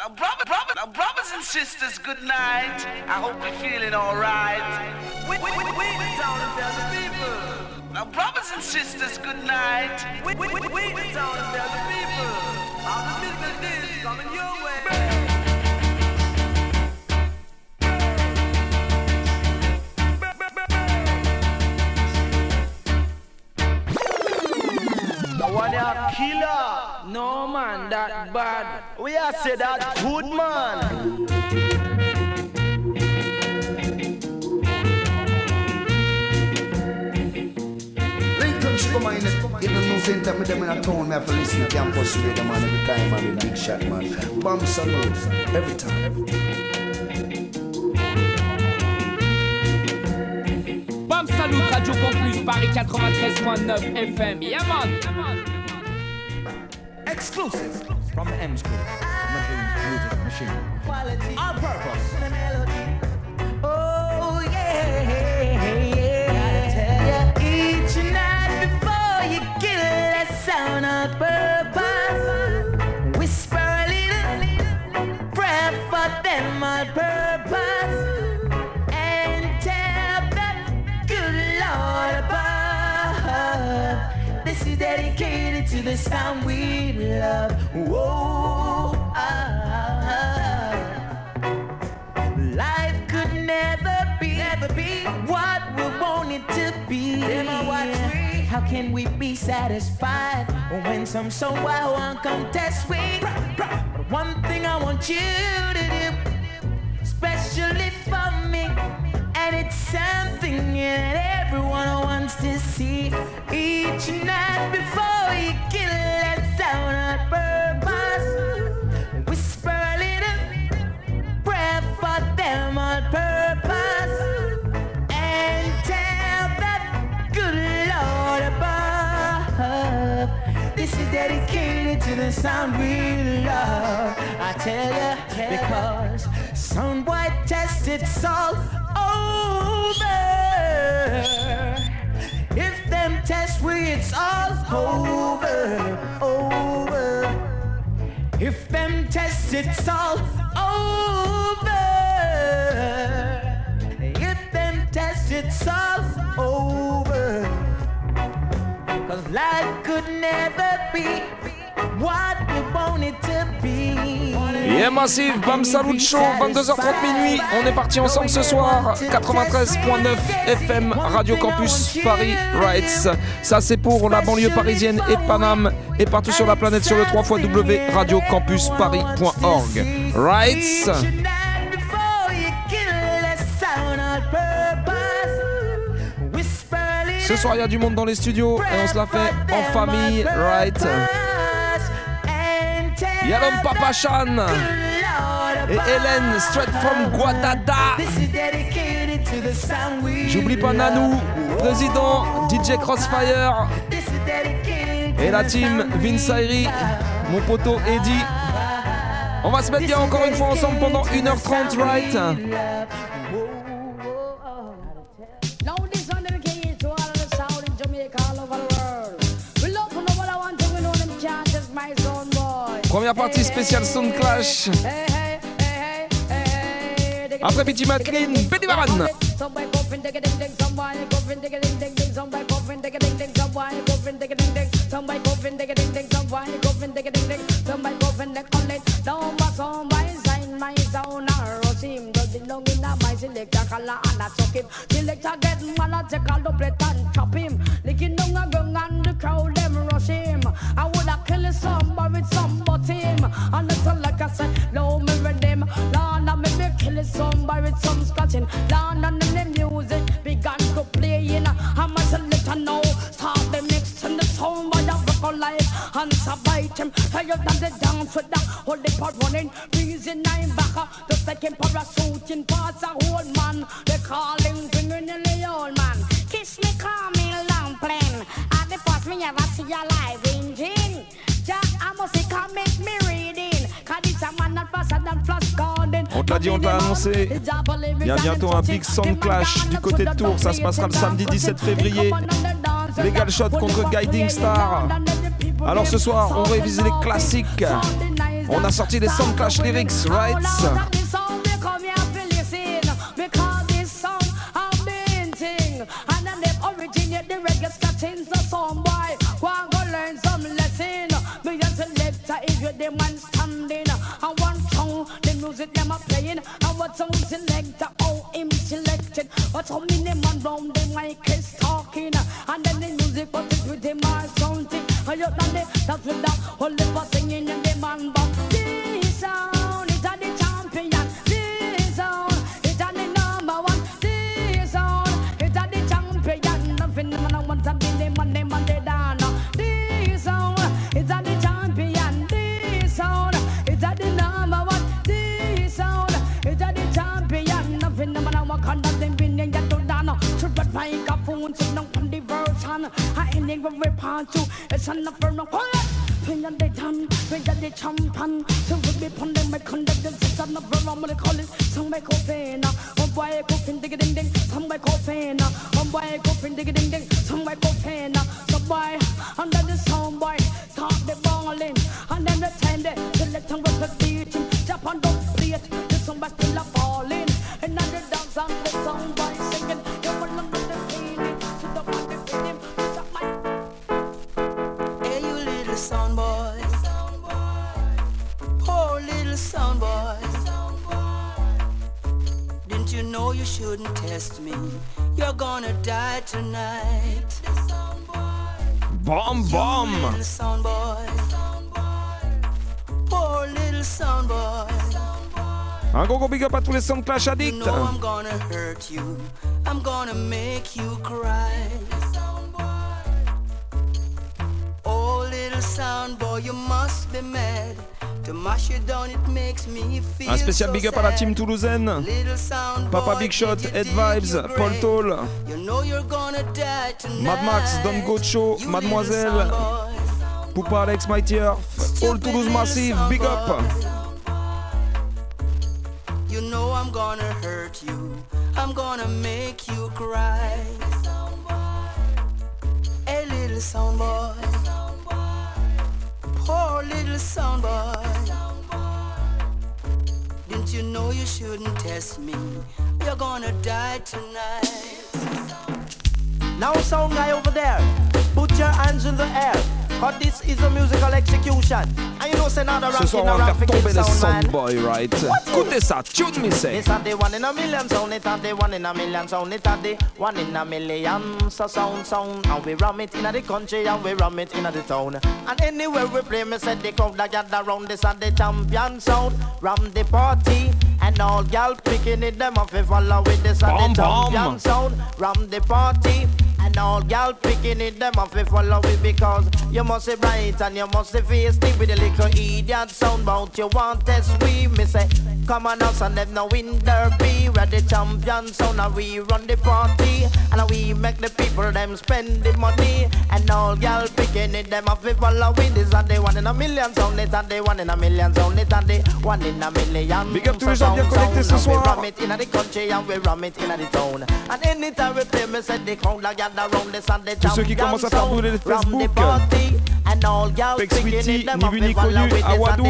Now, brothers and sisters, good night. I hope you're feeling alright. We the town of the people. Now, brothers and sisters, good night. We the town of the people. All the business is coming your way. One a killer. No man, that bad. We are say that good man. Lincoln come in the new center, me them in a town, me have to listen to campus radio man every time, I'm a big shot man. Bomb salute, every time. Bomb salute, Radio Campus, Paris 93.9 FM. Yeah man. Exclusive from the M School. Music machine. Quality. On purpose. The melody. Oh yeah, yeah. Each night before you kill that sound on purpose. Whisper a little prayer for them on purpose. And tell that good Lord above. This is dedicated to the sound we love. Whoa, life could never be what we want it to be. How can we be satisfied when some someone come test we? But one thing I want you to do, especially for me, and it's something that everyone wants to see. Each night before you kill that sound on purpose, whisper a little prayer for them on purpose, and tell that good Lord above, this is dedicated to the sound we love. I tell ya, because sound boy test it's all over. If them test we, it's all over, over. If them test it's all over. If them test it's all over. 'Cause life could never be what we want it to be. Yeah Massive, Bam Salut Show, 22h30 minuit. On est parti ensemble ce soir. 93.9 FM, Radio Campus Paris Rights. Ça c'est pour la banlieue parisienne et Paname et partout sur la planète sur le 3xw.radiocampusparis.org. Rights. Ce soir il y a du monde dans les studios et on se la fait en famille, right? Il y a l'homme Papa Chan et Hélène straight from Guadada. J'oublie pas Nanou, président, DJ Crossfire et la team Vince Ayri, mon poteau Eddie. On va se mettre bien encore une fois ensemble pendant 1h30, right? Première partie spéciale Sound Clash. Après Petit Maclean, Benny Baran. Somebody with some scratching, down and the music began to play in. I must let her know, start the mix and the sound by the vocal life. And bite him, tired than the dance with the holy part running. Reason I'm back, the second parachuting parts a whole man. They calling, bringing in the old man. Kiss me, call me, long plane. At the past me ever see a live engine. Jack, I must say, come make me reading. Cause it's a man that faster than Flash Garden. On te l'a dit, on te l'a annoncé. Il y a bientôt un Big Sound Clash du côté de Tours. Ça se passera le samedi 17 février. Legal Shot contre Guiding Star. Alors ce soir, on révise les classiques. On a sorti les Sound Clash lyrics, right? And then they originate the reggae scratching the song boy. Go and go learn some lesson. Me just selector if you're the man standing. And one song, the music them are playing. And what song selector, oh him selected. What song in the man round the mic is talking. And then the music but it with him or something. And you done the that's with that whole for singing and the man but this sound is the champion. This sound is the number one. This sound is the champion. Nothing man I want to be the man they down. This sound is the champion. This sound is the number one. This sound is the champion. Nothing man I want to them be the get to down. So but my phone sit down on the version. I ain't never report to. It's enough for no quiet. When they done, when they champion. So we be pon them, we conduct them. It's enough for no money call it. Some make coffee now. One boy coughing dig ding ding. Some make coffee now. One boy coughing dig ding ding. Some make coffee now. So boy under the sound boy start the balling. And then the time they select and with the beating. Jump on the plate. The somebody still a falling. And then the dance and the sound boy singing. You will not the feeling. To the body feeling. Hey, you little sound boy. Poor little sound boy. Didn't you know you shouldn't test me? You're gonna die tonight. Bam bam. You little sound boy. Poor little sound boy. Un gros big up à tous les Sound Clash You addicts. know I'm gonna hurt you. I'm gonna make you cry. Oh, little sound boy, you must be mad. To mash you down, it makes me feel Un spécial so big up à la sad. team toulousaine. Little sound Papa boy, Big Shot, did you Ed dig Vibes, your Paul grave? Toll, You know you're gonna die tonight. Mad Max, Don Gocho, You Mademoiselle, little sound boy. Poupa Alex, Mighty Earth, All Toulouse Massive, big up. You know I'm gonna hurt you. I'm gonna make you cry. Hey, little sound boy. Poor little sound boy. Didn't you know you shouldn't test me? You're gonna die tonight. Now sound guy over there, put your hands in the air. Cause this is a musical execution. And you know say now the Ce soir, on va faire tomber les Soundboy, right? Écoutez ça, tune me say. It's not the one in a million sound, it's not the one in a million sound, it's not the one in a million. So sound, and we ram it in the country and we ram it in the town. And anywhere we play, me said the crowd that gather round, this are the champion sound. Ram the party, and all gal picking it, them off if follow with this are the champion sound. Ram the party, and all gal picking it, them off if follow it, because you must be bright and you must be feisty with a little idiot sound bout you want test we. Me say, come on us and them no win derby. We're the champion sound and we run the party. And we make the people them spend the money. And all gal picking it, them off if follow with this and the one in a million sound. It and the one in a million sound. It and the one in a million. Big up tous les gens bien connectés ce soir. We ram it in the country and we ram it in the town. And anytime we play, me say the crowd that gather around this and the Tous ceux qui commencent à faire brûler les Facebook. And all gal Sweetie, ni vu ni connu, Awadou.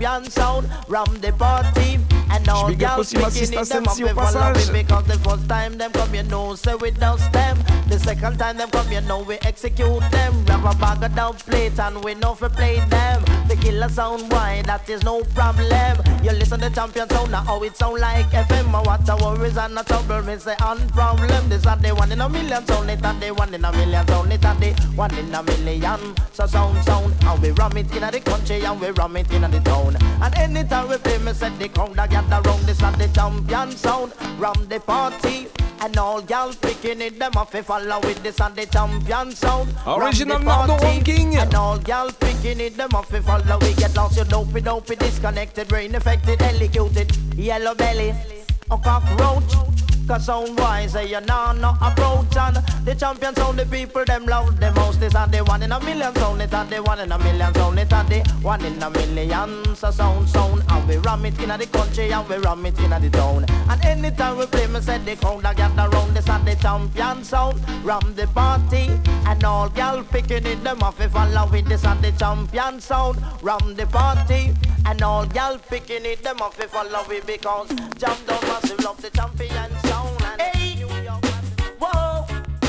Big up aussi ma sister Sensi au passage. Because the first time them come, you know, say we don't them. The second time them come, you know, we execute them. We have a bag of down plate and we know for play them. The killer sound wide, that is no problem. You listen to champion sound, now how it sound like FM. What the worries and the trouble, me say unproblem. This are the one in a million sound, it and the one in a million sound, it and the one in a million. So sound, and we ram it in the country and we ram it in the town. And anytime we play, me set the crowd that gather round, this and the champion sound. Ram the party, and all gal picking it, them off if follow with this and the champion sound. Original Nardo ranking. And all gal picking it, them off if follow. We get lost, you dopey, disconnected, brain affected, electrocuted, yellow belly, or cockroach. Cause sound wise, you know no approach. And the champion sound, the people them love the most. This and the one in a million sound, it and the one in a million sound, it and the one in a million. So sound, and we ram it in the country and we ram it in the town. And anytime we play, me said the crowd that gather round, this and the champion sound. Ram the party, and all gal picking it, them off if follow with this and the champion sound. Ram the party, And all y'all picking it, them off if follow it because Jam Down Massive love the champion sound. And hey, New York Massive. Whoa,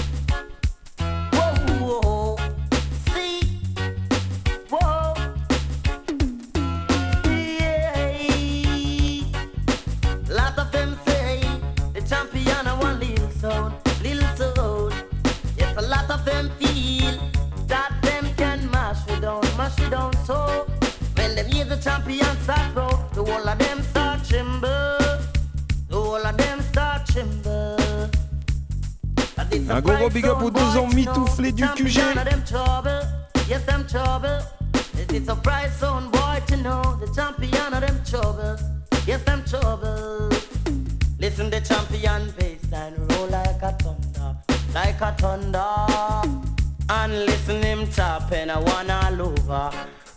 whoa, whoa, see, whoa, yeah. Lot of them say the champion a one little sound, little sound. Yes, a lot of them feel that them can mash it down, so when them hear the champion start roll, the whole of them start tremble, the whole of them start tremble. Un gros big up aux 2 ans mitouflés du QG. Yes, them trouble. It's a prize zone boy to know the champion of them trouble. Yes, them trouble. Listen the champion bassline roll like a thunder, like a thunder. And listen him tap and I want all over,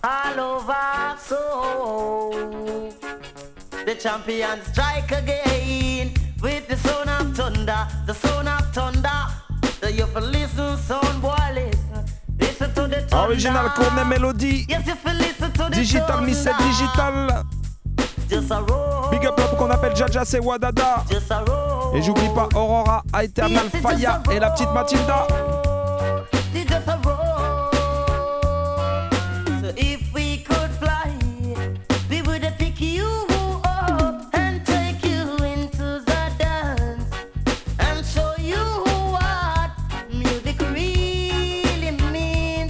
so the champion strike again with the sound of thunder, the sound of thunder. So you for listen, sound boy, listen to the thunder. Original Courtney Melody. Yes, you for listen to the Digital thunder. Miss Digital. Just a roll. Big up l'homme qu'on appelle Jaja, c'est Wadada. Just a roll. Et j'oublie pas Aurora, Eternal Faya et la petite Mathilda. Just a roll. So if we could fly, we would pick you up and take you into the dance and show you what music really means,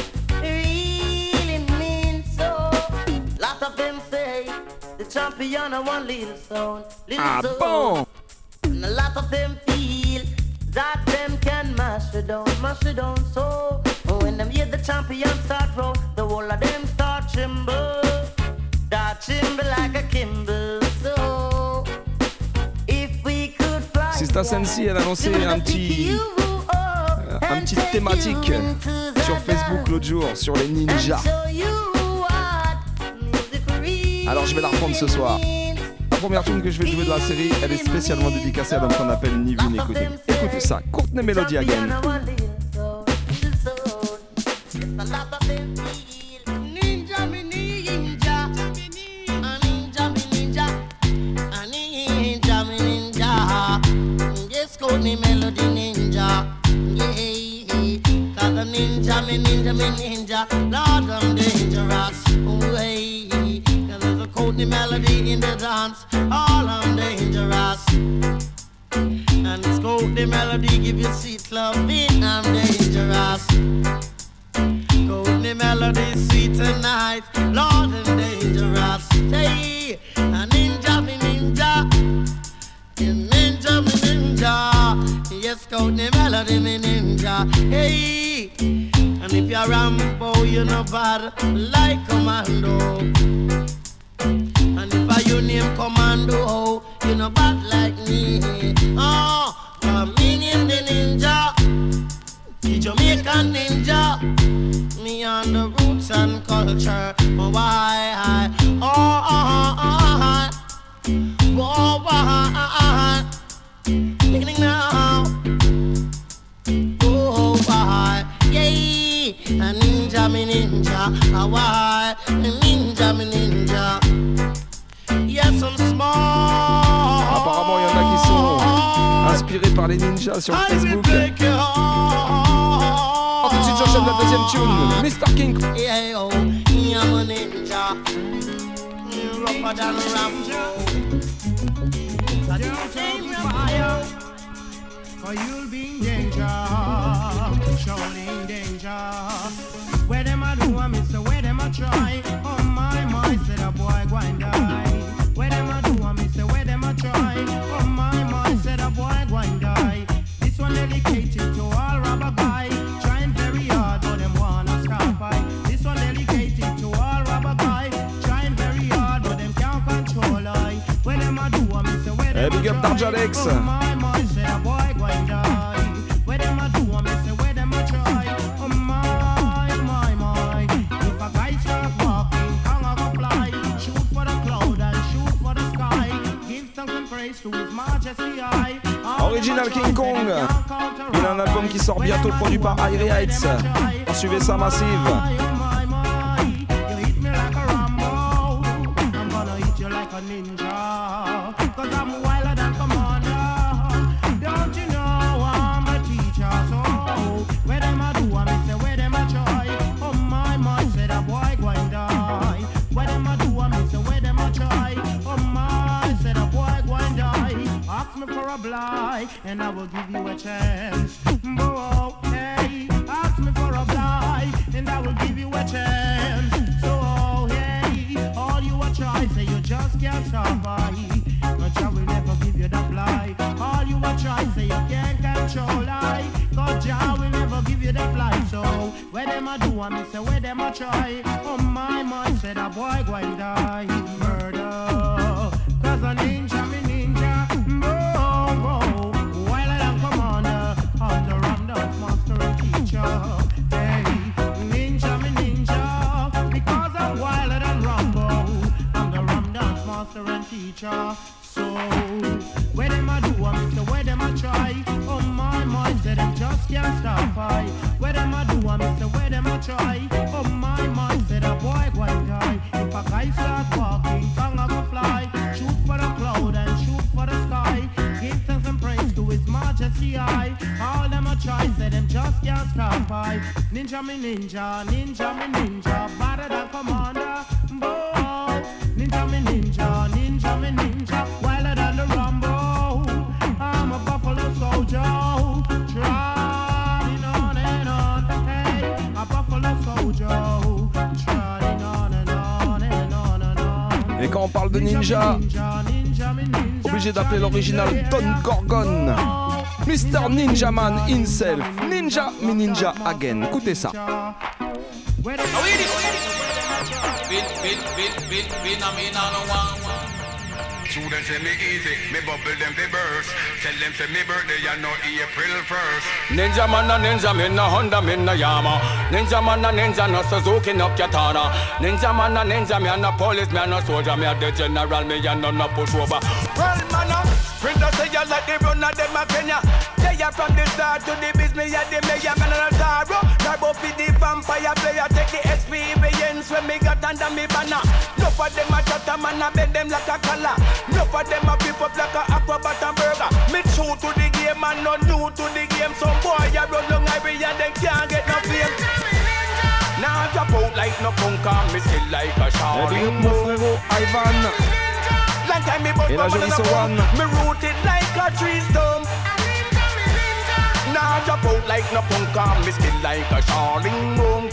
So, lot of them say the champion of one little sound, Ah bon? And a lot of them feel that them can mash it down, so when them hear the champion start roll, the whole of them start tremble, like a Kimble. So if we could fly, Sista Sensi, elle a lancé un petit thématique sur Facebook l'autre jour sur les ninjas. Alors je vais la reprendre ce soir. La première tune que je vais jouer de la série, elle est spécialement dédicacée à l'homme qu'on appelle ni vu ni connu. Écoutez ça, Courtney Melody again. Ninja, me ninja, yes, Courtney Melody ninja, yeah. Cause the ninja, me ninja, Lord, I'm dangerous, way. Cause there's a Courtney Melody in the dance, all I'm dangerous. And it's Courtney Melody, give you sweet loving, I'm dangerous. Courtney Melody, sweet tonight, Lord, I'm dangerous. Hey, a ninja, me ninja. Ninja, me ninja. Yes, Courtney Melody, me ninja. Hey, and if you're Rambo, you're not bad like Commando. And if you name Commando, you're not bad like me. Oh, me name the ninja, the Jamaican ninja. Me on the roots and culture. Oh, why? Beginning now. Oh, why? Yay! A ninja, me ninja. Why? Ninja, me ninja. Yes, I'm small. Apparemment, il y en a qui sont inspirés par les ninjas sur Facebook. Oh, tout de suite, j'enchaîne la deuxième tune, Mr. King. Yeah, oh, I'm a ninja. Rougher than Rambo. For you'll be in danger, surely in danger. Where them I do, I miss, where them I try. Oh my, said a boy go and die. Where them I do, I miss, where them I try. Oh my, said a boy go and die. This one dedicated to all rubber guy. Trying very hard, but them wanna stop by. This one dedicated to all rubber guy. Trying very hard, but them can't control I. Where them I do, I miss, where them I try. Big up Darjalex. Oh my, said a boy go and die. Where them I do, I miss, where them I try. Oh my. If a guy start walking, tongue of a fly. Shoot for the cloud and shoot for the sky. Give thanks and praise to his majesty I. Original King Kong. Il a un album qui sort bientôt produit par Irie Heights. Suivez ça massive. ninja, cause I'm wilder than commander. Don't you know I'm a teacher? So where them I do, I say where them I try. Oh my, said a boy going die. Where them I do, I say where them I try. Oh my, said a boy going die. Ask me for a blight, and I will give you a chance. Oh, hey, ask me for a blight, and I will give you a chance. So, hey, all you a try, say you just can't survive. But I will never give you that blight. All you a try, say you can't control I. Cause I will never give you that blight. So, where them I do, I say where them I try. Oh my, said a boy going die. Murder, cause a ninja, me ninja. Hey, ninja, me ninja, because I'm wilder than Rambo. I'm the Ram Dance master and teacher. So, where them I do, I say where them I try. Oh my, say them just can't stop I. Where them I do, I say where them I try. Oh my, say the boy going die. If a guy start walking, tongue I go fly. Shoot for the cloud and shoot for the sky. Give thanks and praise to His Majesty I. All them I try, say them just can't stop I. Ninja me ninja, ninja me ninja, better than commander. Boy, ninja me ninja, ninja me ninja, wilder than the Rambo. I'm a buffalo soldier, trotting on and on. Hey, a buffalo soldier, trotting on and on and on and on. Et quand on parle de ninja, obligé d'appeler l'original Don Gorgon. Mr. Ninja Man himself, Ninja me ninja again. Écoutez ça. Students say me easy, me bubble them fi burst. Tell them say me birthday and no April 1st. Ninja man a ninja, me no Honda, me no Yama. Ninja man a ninja, no Suzuki, no Katana. Ninja man a ninja, me a no police, me a no soldier, me a the general, me a no pushover. Well man a sprinter say you like the runner, them a Kenya. They are from the start to the business, me a the mayor, man a Taro. Turbo fi the vampire player, take the experience when me got under me banner. No for them a chatter, man a bend them like a collar. No for them a flip up like a acrobat and burger. Me true to the game and not new to the game. Some boy a run down every and they can't get no fame. Now drop out like no punk and me still like a shower. Mon frérot Ivan. Long time me bust my mother me rooted like a tree stump. Now drop out like no punk and me still like a shawling monk.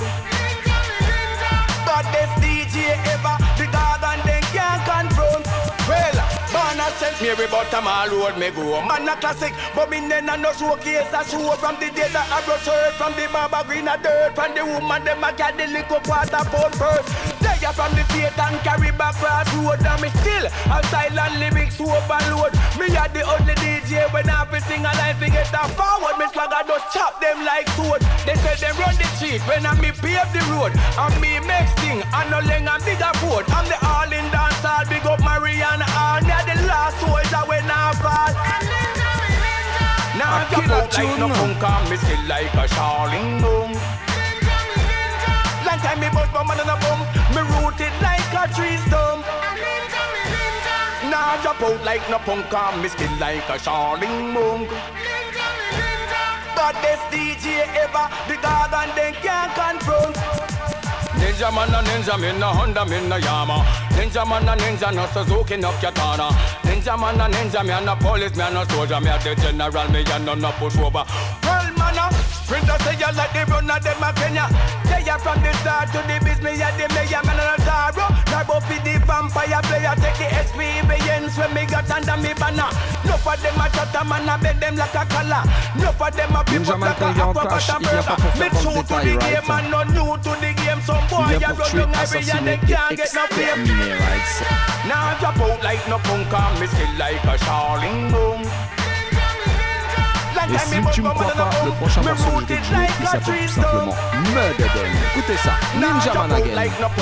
But this DJ ever the God and they can't confront. Well, Barna sent me every bottom all road me go. Man a classic, but me nena no showcase a show from the day that I brought shirt from the barber green a dirt. From the woman them a carry the little quarter pound purse. They are from the state and carry back cross road. And me still a silent lyrics to overload. Me a the only DJ when I fi sing a line fi get a forward. Me swagger just chop them like sword. They say them run the street when I me pave the road. And me make sting and no leng and bigger board. I'm the all in dance all big up Mariana all. Me a the last soldier when I fall. Now I jump out like no punk and me still like a shawling boom. Long time me bust my man and a bum. Me rooted like a tree stump. Now I jump out like no punk and me still like a shawling boom. But this DJ ever the God and they can't confront. Ninja man a ninja, me no Honda, me no Yama. Ninja man a ninja, no Suzuki, no Katana. Ninja man a ninja, me a no police, me a no soldier, me a the general, me a no pushover. Well man a sprinter say you like the runner, them a Kenya. They are from the start to the business, me a the mayor, man a Taro. Turbo fi the vampire player, take the experience when me got under me banner. No for them a chatter, man a bend them like a collar. No for them a flip up like a acrobat and burger. Me true to the game and not new to the game. Some boy a run down every and they can't get no fame. Now I drop out like no punk and me still like a shawling boom. Et si tu me crois pas, le prochain morceau que je vais te jouer, il s'appelle tout simplement Mud Again. Écoutez ça, Ninja Man Again.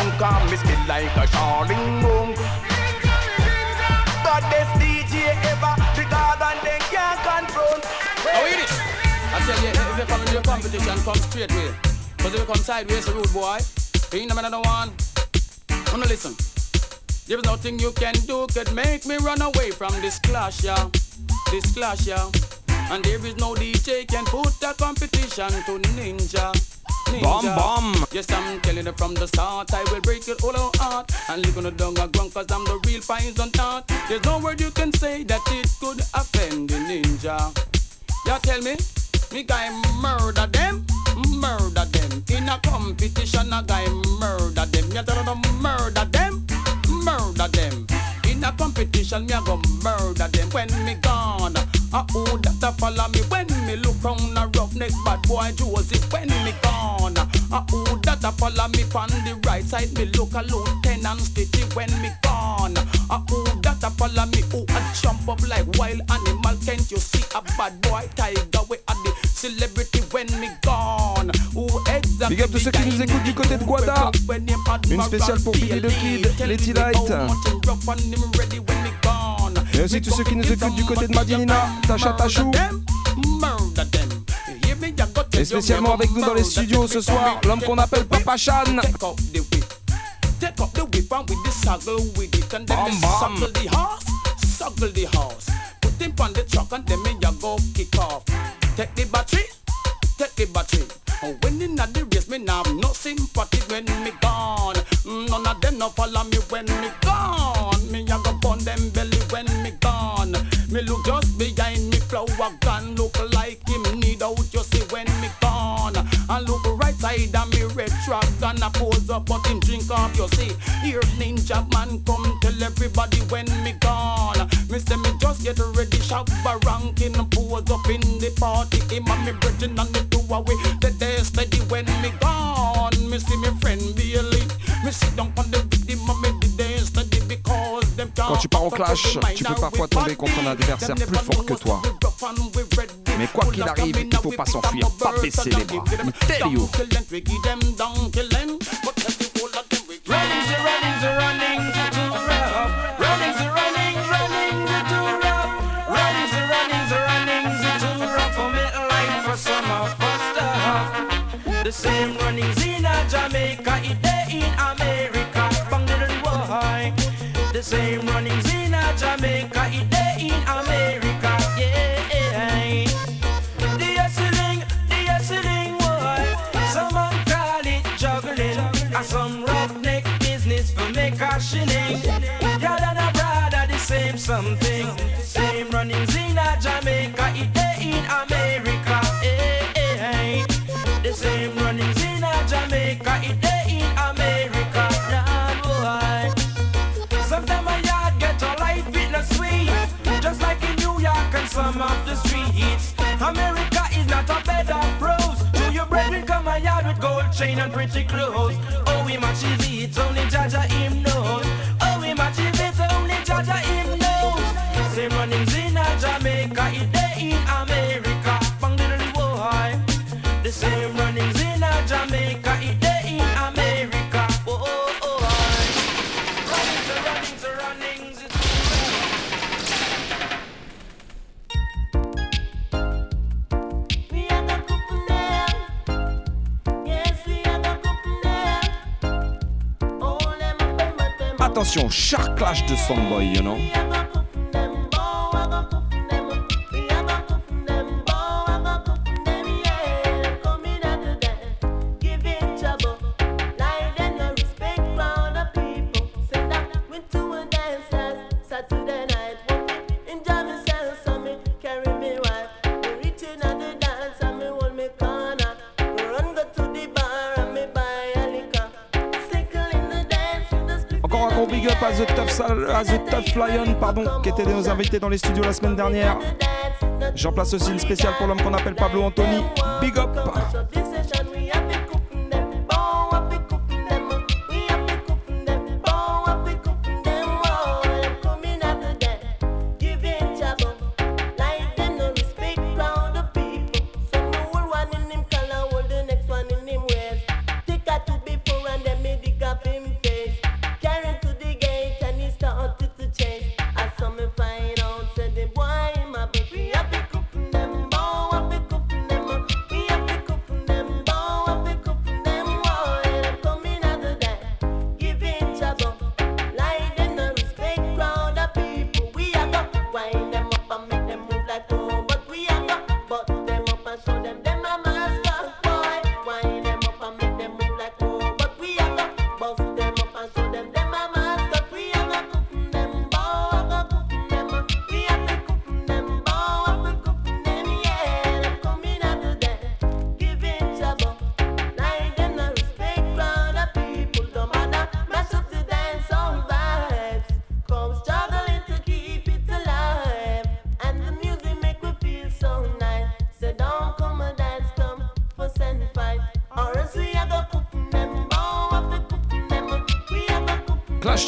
But this DJ ever, the God and they can't confront. How it is? I tell you, if you come in your competition, come straight way. Cause if you come sideways, a rude boy, you ain't the man of the one. Wanna listen? There's nothing you can do could make me run away from this clash, yeah. This clash, yeah. And there is no DJ can put a competition to Ninja. Bomb, bomb. Yes, I'm telling you from the start, I will break it all out and leave on the dung and ground, cause I'm the real poison tart. There's no word you can say that it could offend the Ninja. You tell me guy murder them. In a competition, a guy murder them. You tell them murder them. In a competition, me a go murder them. When me gone, who that a follow me? When me look round a roughneck bad boy Joseph. When me gone, who that a follow me? On the right side, me look a Lieutenant Stitchy. When me gone, who that a follow me? Who a jump up like wild animal? Can't you see a bad boy tiger? We are the celebrity when me gone. Who exactly? Big up tous ceux qui nous écoutent du côté de Guada. Une spéciale pour Billy the Kid, Letty Light. Et aussi tous ceux qui nous écoutent du côté de Madinina, Tasha Tachou. Et spécialement avec nous dans les studios ce soir, l'homme qu'on appelle Papa Chan. Take up the whip and with the saddle with it, and then suckle the horse. Put him on the truck and then me ya go kick off. Take the battery. Oh, when in the race, me now have no sympathy when me gone. None of them no follow me when me gone. Me a go burn them belly when me gone. Me look just behind me flower gun, look like him need out. You see when me gone. And look right side of me red truck and I pose up, but him drink up. You see, here Ninja man come tell everybody when me gone. Me say me just get ready, shop a ranking, pose up in the party. Him and me brethren and me two away. They steady when me gone. Me see me friend Billy. Me sit down on the rhythm and me they steady because them. Quand tu pars au clash, tu peux parfois tomber contre un adversaire plus fort que toi. Mais quoi qu'il arrive, il faut pas s'enfuir, pas baisser les bras. Tell you. The same runnings in Jamaica, it day in America, bang little boy. The same runnings in Jamaica, it day in America, yeah. The hustling, boy. Some call it juggling, and some roughneck business for make a shilling. Y'all and a brother, the same something. Same runnings in Jamaica, it day in America, yeah. The same runnings in Jamaica, it day in America, nah boy. Sometimes my yard get a life, it not sweet, just like in New York and some of the streets. America is not a bed of pros. To your brethren come my yard with gold chain and pretty clothes. Oh, we match it, only Jaja him knows. Oh, we match it, only Jaja him knows. Same runnings in Jamaica, it day in America, bang little boy. The same runnings in Jamaica, it day in America. Oh, oh, oh, runnings. We are the good for them. Yes, we are the good for them. Oh, them. Attention, sharp clash de Soundboy, you know. Big up à The Tough Lion, pardon, qui était nos invités dans les studios la semaine dernière. J'en place aussi une spéciale pour l'homme qu'on appelle Pablo Anthony. Big up.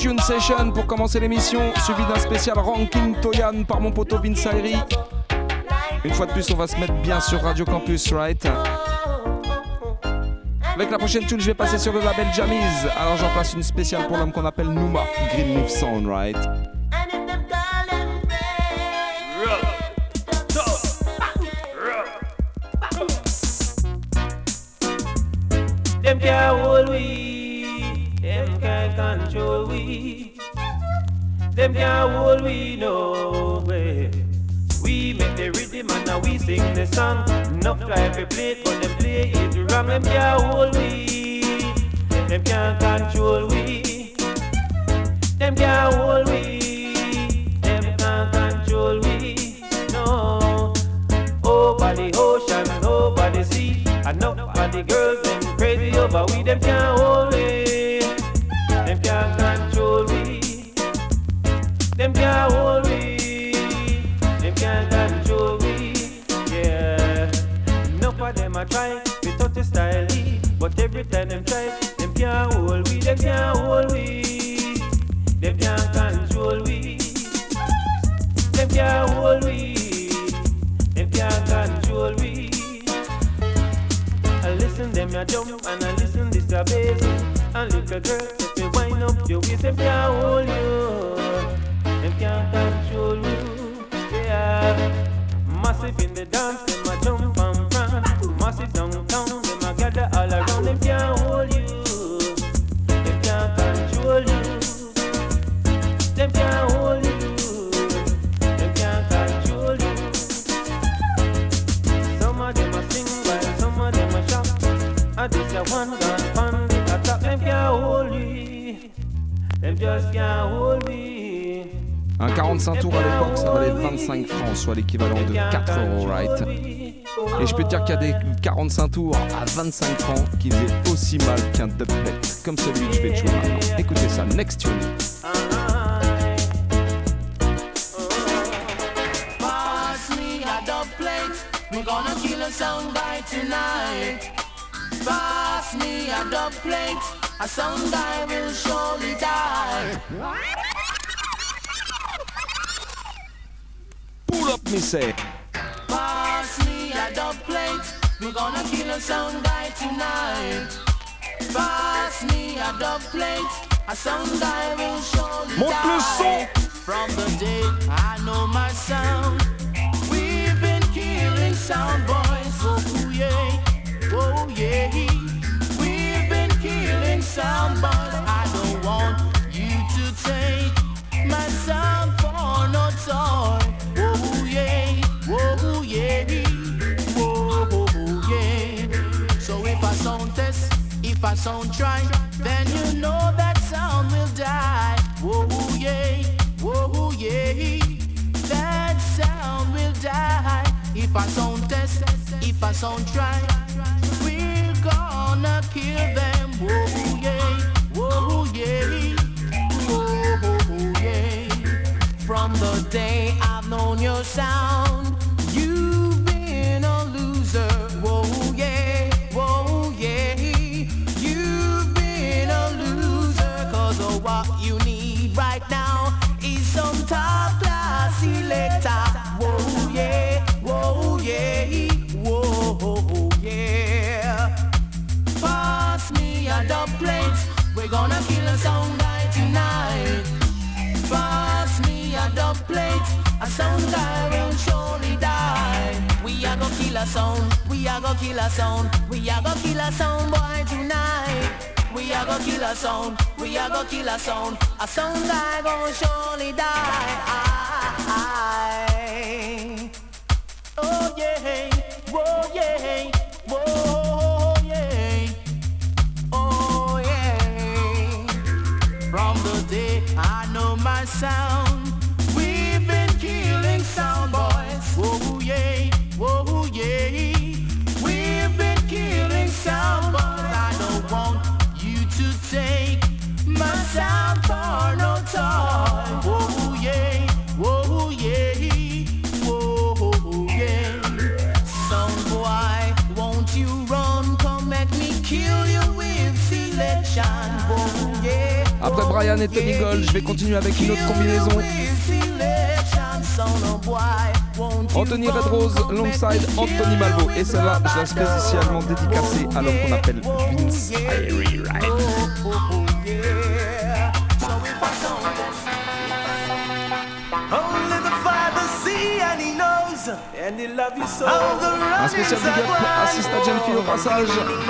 Tune Session pour commencer l'émission, suivi d'un spécial Ranking Toyan par mon poteau Vince Ayri. Une fois de plus, on va se mettre bien sur Radio Campus, right? Avec la prochaine tune, je vais passer sur le label Jamiz. Alors j'en place une spéciale pour l'homme qu'on appelle Numa, Greenleaf Sound, right? Them can't hold we, them can't control we. Them can't hold we no way. We make the rhythm and now we sing the song. Enough try to play it, but them play it wrong. Them can't hold we, them can't control we. Them can't hold we, them can't control we. No, over the ocean, over the sea. Enough of the girls, them crazy over we. Them can't hold we, them can't control we. Them can't hold we, them can't control we. Yeah, enough of them a try to touch the style, but every time them try, them can't hold we. Them can't hold we, them can't control we. Them can't hold we, them can't control we. I listen them a jump and I listen this a bass. And little girl, if you wind up your waist, them can't hold you, them can't control you. Yeah, massive in the dance, them a jump and prance. Massive downtown, them a gather all around. Them can't hold you, them can't control you. Them can't hold you, them can't control you. Some of them a sing while some of them a shout. And this a one gun fun, the attack. Them can't hold me, them just can't hold me. Un 45 tours à l'époque, ça valait 25 francs, soit l'équivalent de 4 €, right? Et je peux te dire qu'il y a des 45 tours à 25 francs qui faisaient aussi mal qu'un dubplate, comme celui que je vais te jouer maintenant. Écoutez ça, next tune. Pass me a dubplate, we're gonna kill a sound guy tonight. Pass me a dubplate, a sound guy will surely die. Pull up, me say. Pass me a dubplate, we're gonna kill a sound guy tonight. Pass me a dubplate, a sound guy will surely Monte le son. From the day I know my sound, we've been killing sound boys. Oh yeah, oh yeah. We've been killing sound boys. I don't want you to take my sound for no toy. Oh yeah, oh yeah, oh yeah. So if I sound test, if I sound try, then you know that sound will die. Oh yeah, oh yeah, that sound will die. If I sound test, if I sound try, we're gonna kill them. Oh yeah, oh yeah, oh yeah. From the day I've known your sound, you've been a loser. Whoa yeah, whoa yeah. You've been a loser. Cause of what you need right now is some top class selector. Whoa yeah, whoa yeah, whoa yeah. Pass me a dubplate, we're gonna kill a sound guy tonight. Pass me a dubplate, a sound guy will surely die. We are gonna kill a sound, we are gonna kill a sound, we are gonna kill a sound boy tonight. We are gonna kill a sound, we are gonna kill a sound guy gonna surely die. Oh yeah, whoa yeah, whoa yeah, oh yeah. From the day I know my sound, we've been killing sound boys. Whoa yeah, whoa yeah. We've been killing sound boys. I don't want you to take my sound for no toy. Whoa yeah, whoa yeah, whoa yeah. Sound boy, won't you run? Come make me kill you with selection. Whoa yeah. Après Brian et Tony Gold, je vais continuer avec une autre combinaison. Anthony Red Rose alongside Anthony Malvo. Et celle-là, je l'ai spécialement dédicacée à l'homme qu'on appelle Vince Ayre. Un spécial big up à Sista Genfi au passage.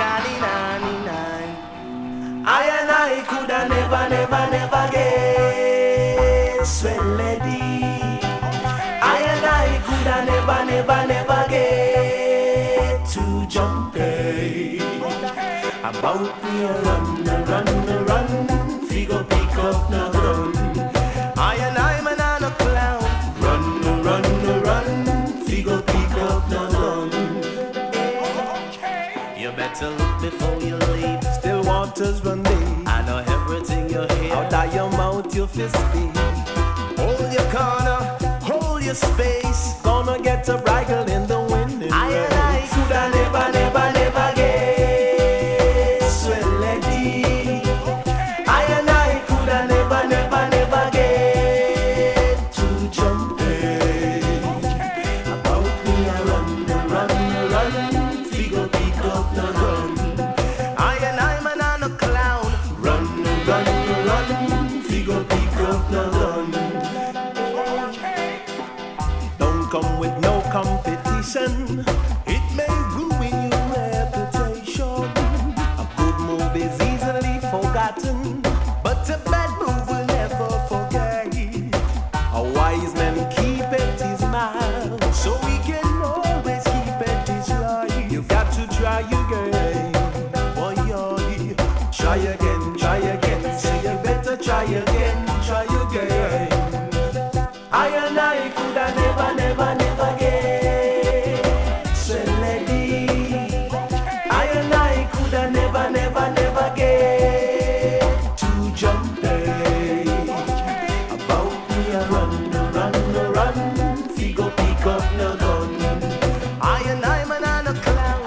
I and I coulda never get sweat lady. I and I coulda never get to jump. About me run, figure pick up the gun. I and I man on a clown. Run, figure pick up the gun. You better look before you leave. Still waters run deep. I know everything you hear. Out of your mouth, your fist beat. Hold your corner, hold your space. Gonna get a bridle in the wind. I and I coulda never get sweat lady. I and I coulda never get to jump. About me I run, figure pick up the gun. I and I man on a clown. Run, figure pick up the gun. Don't come with no competition. It may ruin your reputation. A good move is easily forgotten, but a bad move will never forget. A wise man keepeth his mouth, so he can always keep it his life. You've got to try again, boy, try again, so you better try again. I and I coulda never get sweat lady. I and I coulda never get to jump. About me a run, figure pick up the gun. I and I man on a clown.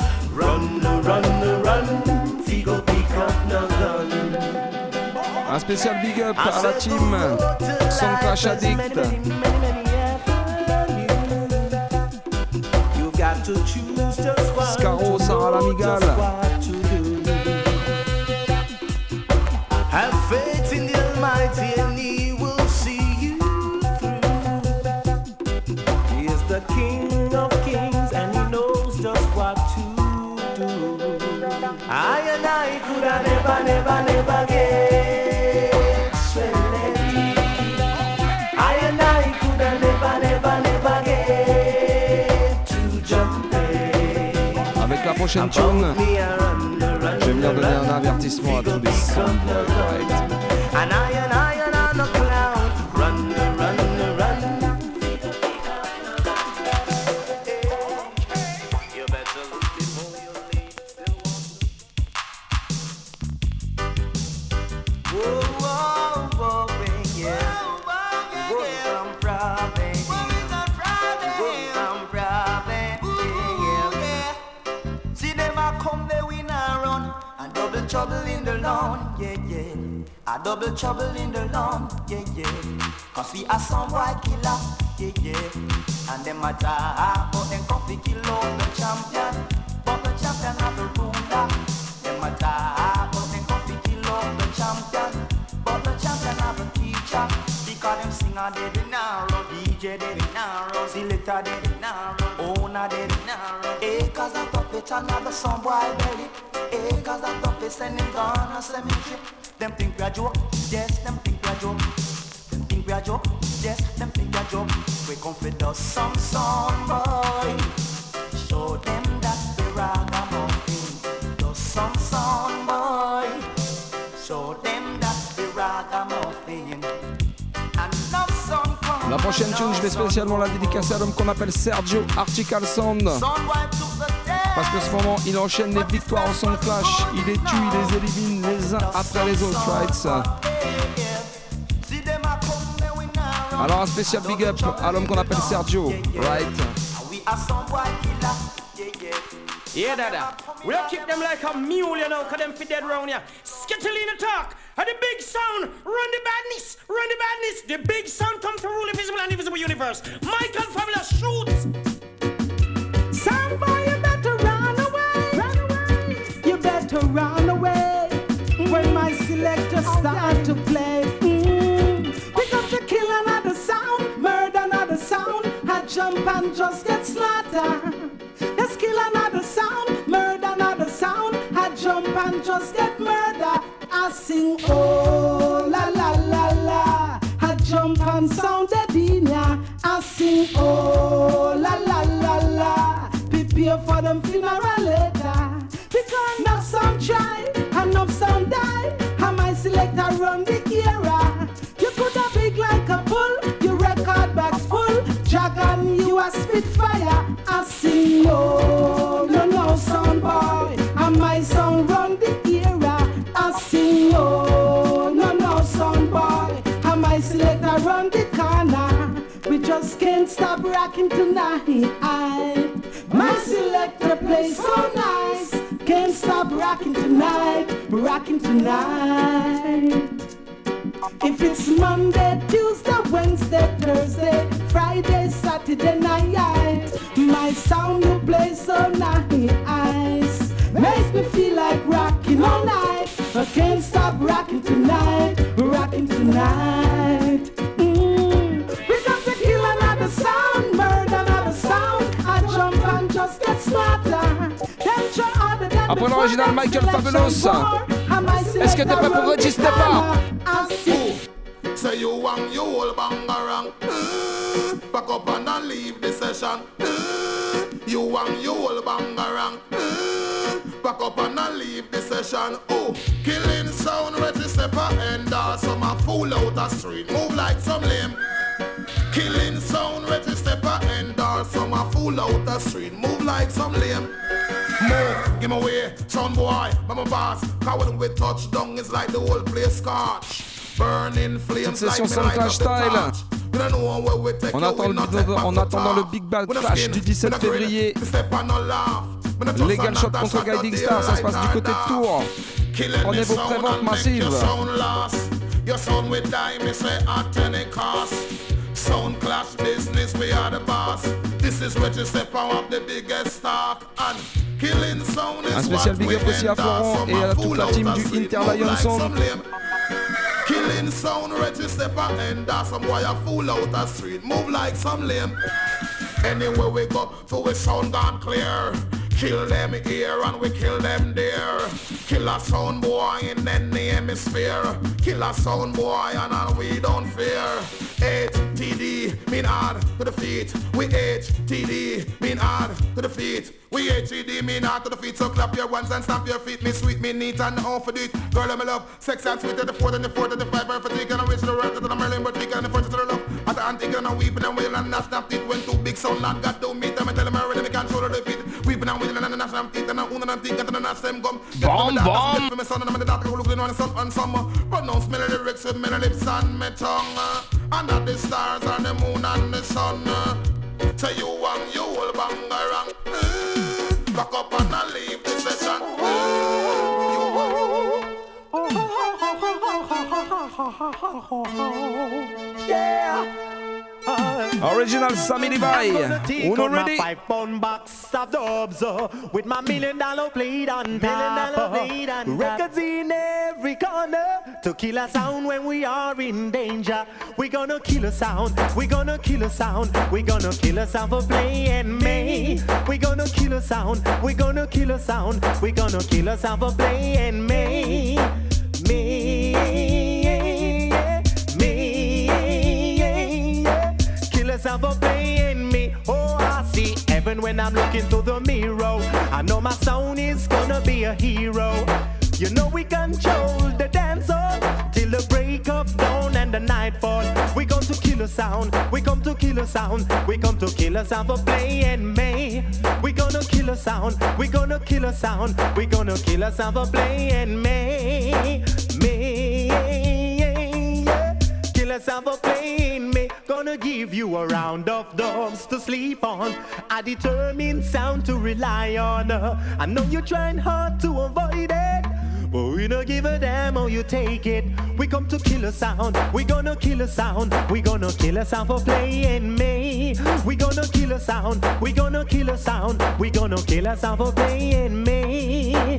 Run, figure pick up the gun. Un spécial big up à la team Son Clash Addict. Scaro, Sarah Lamigal. Have faith in the Almighty and He will see you through. He is the King of Kings and He knows just what to do. I and I coulda never get sweat lady. I and I coulda never get to jump. Avec la prochaine tune, je vais venir donner un avertissement à tous les soundboys, right? And I on a cloud. Run. You better look before you leave. Whoa, yeah. Whoa, some problem. See them a come, they win and run. And double trouble in the lawn, yeah. A double trouble in the lawn, yeah. Cause we are some white killer, yeah. And them a talk, but them coffee kill out the champion. But the champion have the ruler. Them a talk, but them coffee kill out the champion. But the champion have a teacher. Because them singer dead in narrow, DJ dead in narrow, selector dead in narrow, owner dead in narrow. Hey, cause I thought it another some boy belly. Hey, cause I thought they send him gone a cemetery. Them think we are joke, yes, them think we are joke. Them think we are joke, yes, them think we are joke. We come for the some sound boy. Show them that we ragamuffin. The some sound boy. Show them that we ragamuffin. La prochaine tune, je vais spécialement la dédicacer à l'homme qu'on appelle Sergio Artical Sound. Parce que ce moment, il enchaîne les victoires en Sound Clash. Il les tue, il les élimine les uns après les autres, right? Alors un spécial big up à l'homme qu'on appelle Sergio, right? Yeah, dada. We don't keep them like a mule, you know, cause them fit dead round here. Skittle in the talk. the big sound, run the badness, run the badness. The big sound comes to rule the visible and invisible universe. Michael Fabulous shoots. Sound boy, you better run away. Run away. You better run away. When my selector start to play. We got to kill another sound, murder another sound. I jump and just get slaughtered. Let's kill another sound, murder another sound. I jump and just get murdered. I sing oh la la la la. I jump and sound the dinya. I sing oh la la la la. Prepare for them funeral later. Because enough sound try, enough sound die. And my selector run the era. You could have big like a bull, your record bags full. Dragon, you a spitfire. I sing oh no no sound boy. And my sound run the era. I sing oh no no sound boy. And my selector run the corner. We just can't stop rocking tonight. My selector plays so nice. Can't stop rocking tonight, rocking tonight. If it's Monday, Tuesday, Wednesday, Thursday, Friday, Saturday night, my sound will play so nice. Makes me feel like rocking all night. I can't stop rocking tonight, rocking tonight. We got to kill another sound, murder another sound. I jump and just get smarter. Après l'original Michael Fabulous, est-ce que t'es prêt pour Reggie Stepper? Say you want you all bangarang. Back up and leave the session. You want you all bangarang. Back up and leave the session. Oh, killing sound, Reggie Stepper and some a fool out the street. Move like some lame. Killing sound, Reggie Stepper and some a fool out the street. Move like some lame. Move, give me away, sound boy, I'm a boss. Cause when we touch down, it's like the whole place scotch. Burning flames like me light up the torch. En attendant le Big Bad Clash du 17 février, Legal Shot contre Guiding Star, ça se passe du côté de Tours. Prenez vos préventes massives. Your sound will die, me say at any cost. Sound clash business, we are the boss. This is where you step out the biggest stock. And killing sound is un spécial big up aussi à Florent et à toute la team du Interlion Sound. Killing sound, Reggie Stepper and some boy a fool out the street. Move like some lame. Anywhere we go, so we sound gone clear. Kill them here and we kill them there. Kill a sound boy in any hemisphere. Kill a sound boy and we don't fear. HTD mean hard to the feet. We HTD mean hard to the feet. We HTD mean hard to the feet. So clap your ones and stamp your feet. Me sweet, me neat and off for it. Girl, I'm love. Sex and sweet at the 4th and the 4th and the 5 and fatigue and I reach the right to the Merlin but we and the 1st to the love. At the antique and I weeping and wailing and I snapped it. When two big sound land got to meet them and tell them I really can't shoulder the beat. Weeping and wailing and the national teeth and I own and think and the national gum. Bomb, bomb. For my son and I'm the doctor who looking on the sun and summer. Pronounce me lyrics with me lips and me tongue. Under the stars and the moon and the sun. Say you want you all bangarang. Back up and I leave the session. Yeah. Original Sammy Levi. Uno ready? 5-pound box of dubs with my $1 million plate on top. Records in every corner to kill a sound when we are in danger. We gonna kill a sound. We gonna kill a sound. We gonna kill a sound for playing me. We gonna kill a sound. We gonna kill a sound. We gonna kill a sound for playing me. Killers for playing me. Oh, I see heaven when I'm looking through the mirror. I know my sound is gonna be a hero. You know we control the dancer till the break of dawn and the nightfall. We come to kill a sound. We come to kill a sound. We come to kill a sound for playing me. We gonna kill a sound. We gonna kill a sound. We gonna kill a sound for playing me. Kill a sound for playing me. Gonna give you a round of dubs to sleep on. A determined sound to rely on. I know you're trying hard to avoid it. but we don't give a damn how you take it. We come to kill a sound, we gonna kill a sound, we gonna kill a sound for playing me. We gonna kill a sound, we gonna kill a sound, we gonna kill a sound for playing me.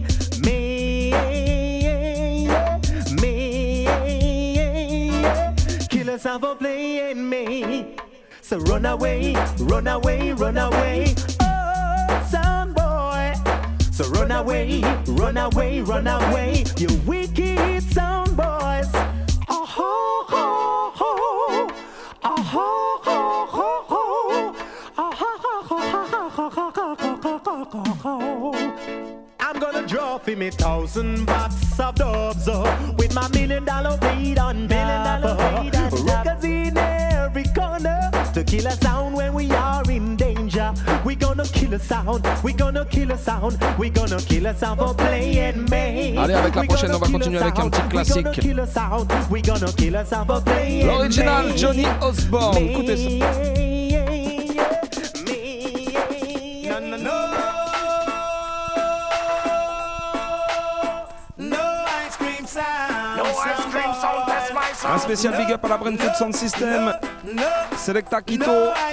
Kill a sound for playing me. So run away, run away, run away, oh sound boy. So run away, run away, run away, you wicked sound boys. Oh ho ho ho, oh ho ho ho ho, oh ho ho ho ho ho ho. I'm gonna drop him 1,000 box of dubs with my $1 million weed on top. Records in every corner to kill a sound when we are in danger. We gonna kill a sound, we gonna kill a sound, we gonna kill a sound for playing me. Allez, avec la prochaine, on va continuer avec un petit classique. L'original Johnny Osborne. Écoutez ça. Un spécial big up à la Brentford Sound System, Selecta Quito,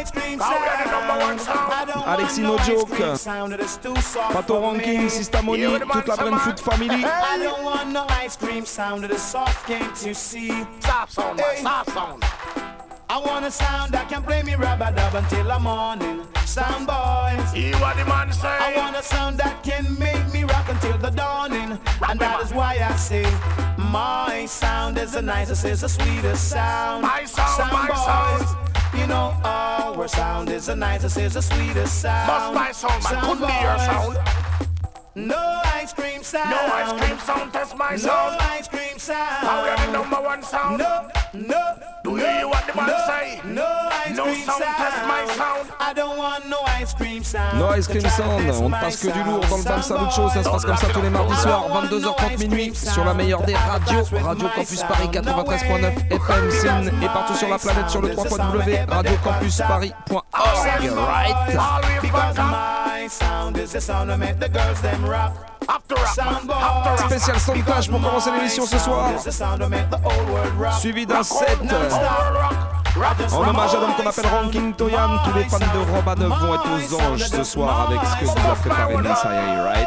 Alexis No Joke, Pato Ranking, Sistamoni, toute la Brentford family. I don't want no ice cream sound of the soft game to see. Soft sound, soft sound. I want a sound that can play me rub-a-dub until the morning. Sound boys, hear what the man say. I want a sound that can make me rock until the dawning. And that is why I say my sound is the nicest, is the sweetest sound. My sound, my boys, sound. you know our sound is the nicest, is the sweetest sound. Must my sound, man, couldn't be your sound. No ice cream sound. No ice cream sound, test my sound. No ice cream sound. How are the #1 sound? No, no. Do you hear what the man say? No ice no cream sound, test my sound. I don't want no ice cream sound. No Ice Cream Sound, on ne passe que du lourd dans le Bam Salut Show, ça se passe comme ça tous les mardis soirs, 22h30 minuit, sur la meilleure des radios, Radio Campus Paris 93.9 FM Sin, et partout sur la planète sur le www.radiocampusparis.org. Right. Because my sound is the sound that make the girls them rock. Spécial sondage pour commencer l'émission ce soir, suivi d'un set en hommage à l'homme qu'on appelle Ranking Toyan. Tous les fans de Rob 9 vont être aux anges ce soir avec ce que vous a préparé Messiah, right?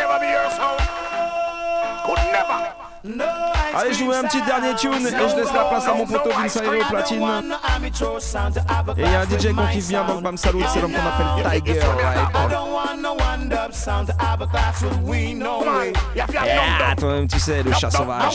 Allez, je vous mets un petit dernier tune et je laisse la place à mon poteau Vince au platine. Et il y a un DJ qu'on kiffe bien dans le Bam Salut, c'est l'homme qu'on appelle Tiger, right? Yeah, toi-même tu sais, le chat sauvage.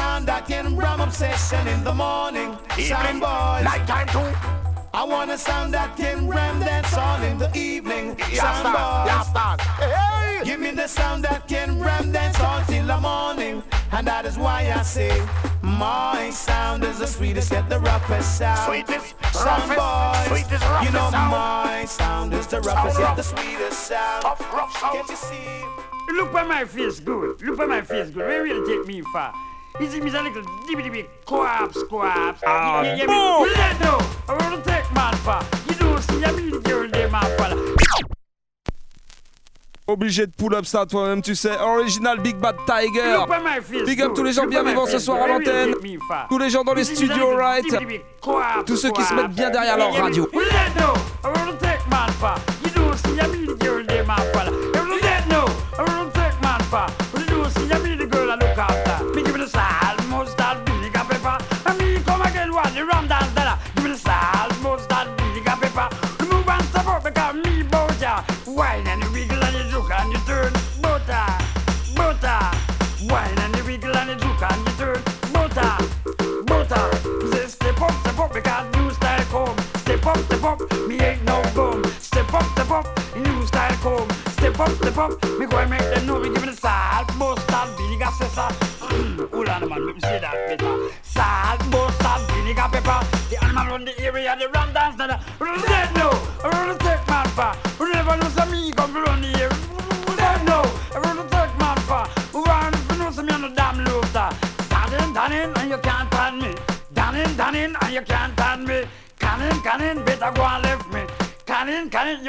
I want a sound that can ram dance all in the evening. Sound boys, hey, give me the sound that can ram dance all till the morning. And that is why I say my sound is the sweetest yet the roughest sound. Sweetest, sound roughest, boys, sweetest, roughest you know sound. my sound is the roughest yet the sweetest sound. Rough sound. Can't you see? Look at my face good. Look at my face good. Where will take me far? Is it me a little dibby quaps? Ah, You boom! let know. I want to take man far. You don't see a mean girl there, man fella. Obligé de pull up ça toi-même tu sais. Original Big Bad Tiger. Look at my face Big up good. tous les gens Look bien at my vivants ce face soir good. à Where will l'antenne. take me far? Tous les gens dans les Is it me a studios, little right? dibby quaps? Tous ceux qui se mettent bien derrière leur radio. You let know. I want to take man far. You don't see a mean girl there, man fella. You let know. I want to take man far. You don't see a mean girl I look after. Me give me the salt, mustard, vinegar, pepper. And me come again while the rum dance that. Give me the salt, mustard, vinegar, pepper. Move and step up because me bout ya. Wine and you wiggle and you juke and you turn. Butter. Wine and you wiggle and you juke and you turn. Butter. Say step up because new style come. Step up, me ain't no bum. Step up, new style come. Step up, me go and make them know. Me give me the salt, mustard, vinegar, pepper. Hold on, man, let me say that better. Salt, mustard, vinegar, pepper. The animal on the area, the ram dance, that. Dead no, I want to take man far. You never know some me come from the here. Dead no, I want to take man far. Who want to know some me on the damn looter. Dannin, and you can't turn me. Dannin, and you can't turn me. Cannon, better go and left me. Cannon, you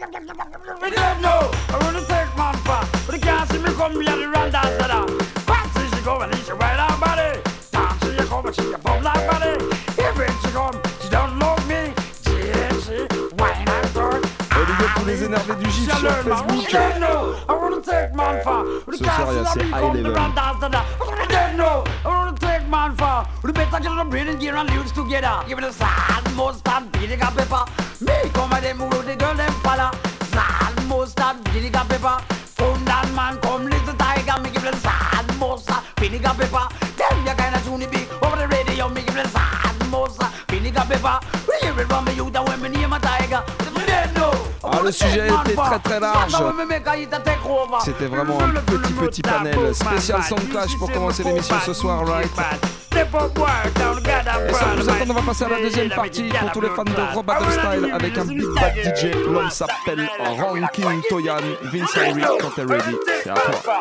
dead no, I want to take man far. But you can't see me come here, the ram dance, that. go and she right on body. Down she come and she a bum like body. Even she come, she don't love me. She wine and turn. Et les gars, tous les énervés du GIF sur Facebook. Ce soir, il y a ces high level. We better get on breathing gear and lyrics together. Give it a sad mustard, vinegar pepper. Me come and them who the girl them follow. Sad mustard, vinegar pepper. Come down man, come little tiger. Me give it a sad mustard, vinegar pepper. Them ya kinda tune big over the radio. Me give it a sad mustard, vinegar pepper. We hear it from me youth and when me name a tiger. Ah, le sujet était très très large. C'était vraiment un petit panel spécial Sound Clash pour commencer l'émission ce soir, right? Et sans plus attendre, on va passer à la deuxième partie pour tous les fans de Rob Battle Style avec un big bad DJ. L'homme s'appelle Ranking Toyan. Vince Henry, quand t'es ready, c'est à toi.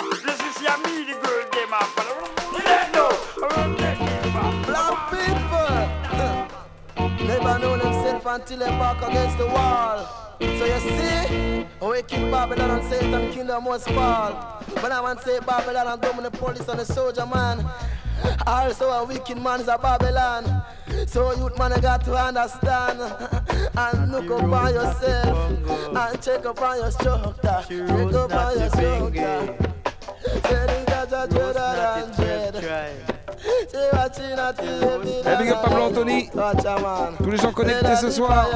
Black people never know themselves until they back against the wall. So you see, we keep Babylon and Satan kingdom must fall. But I want to say Babylon and dominate the police and the soldier man. Also a wicked man is a Babylon. So youth man, you got to understand. And look up on yourself and check up on your structure. Check up on your structure. Say that you're dreader than dread. Hey, big up Pablo Anthony. Tous les gens connectés ce soir.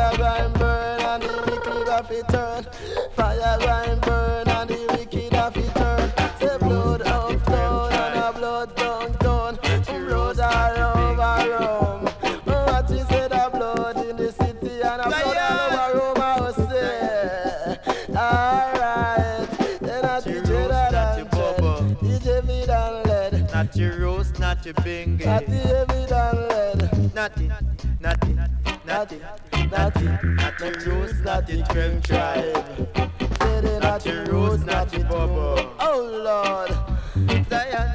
Not your bingy. Not the heavy than lead. Natty. Not your roots, not your trim tribe. Not your roots, not your bubble. Oh Lord. Zion.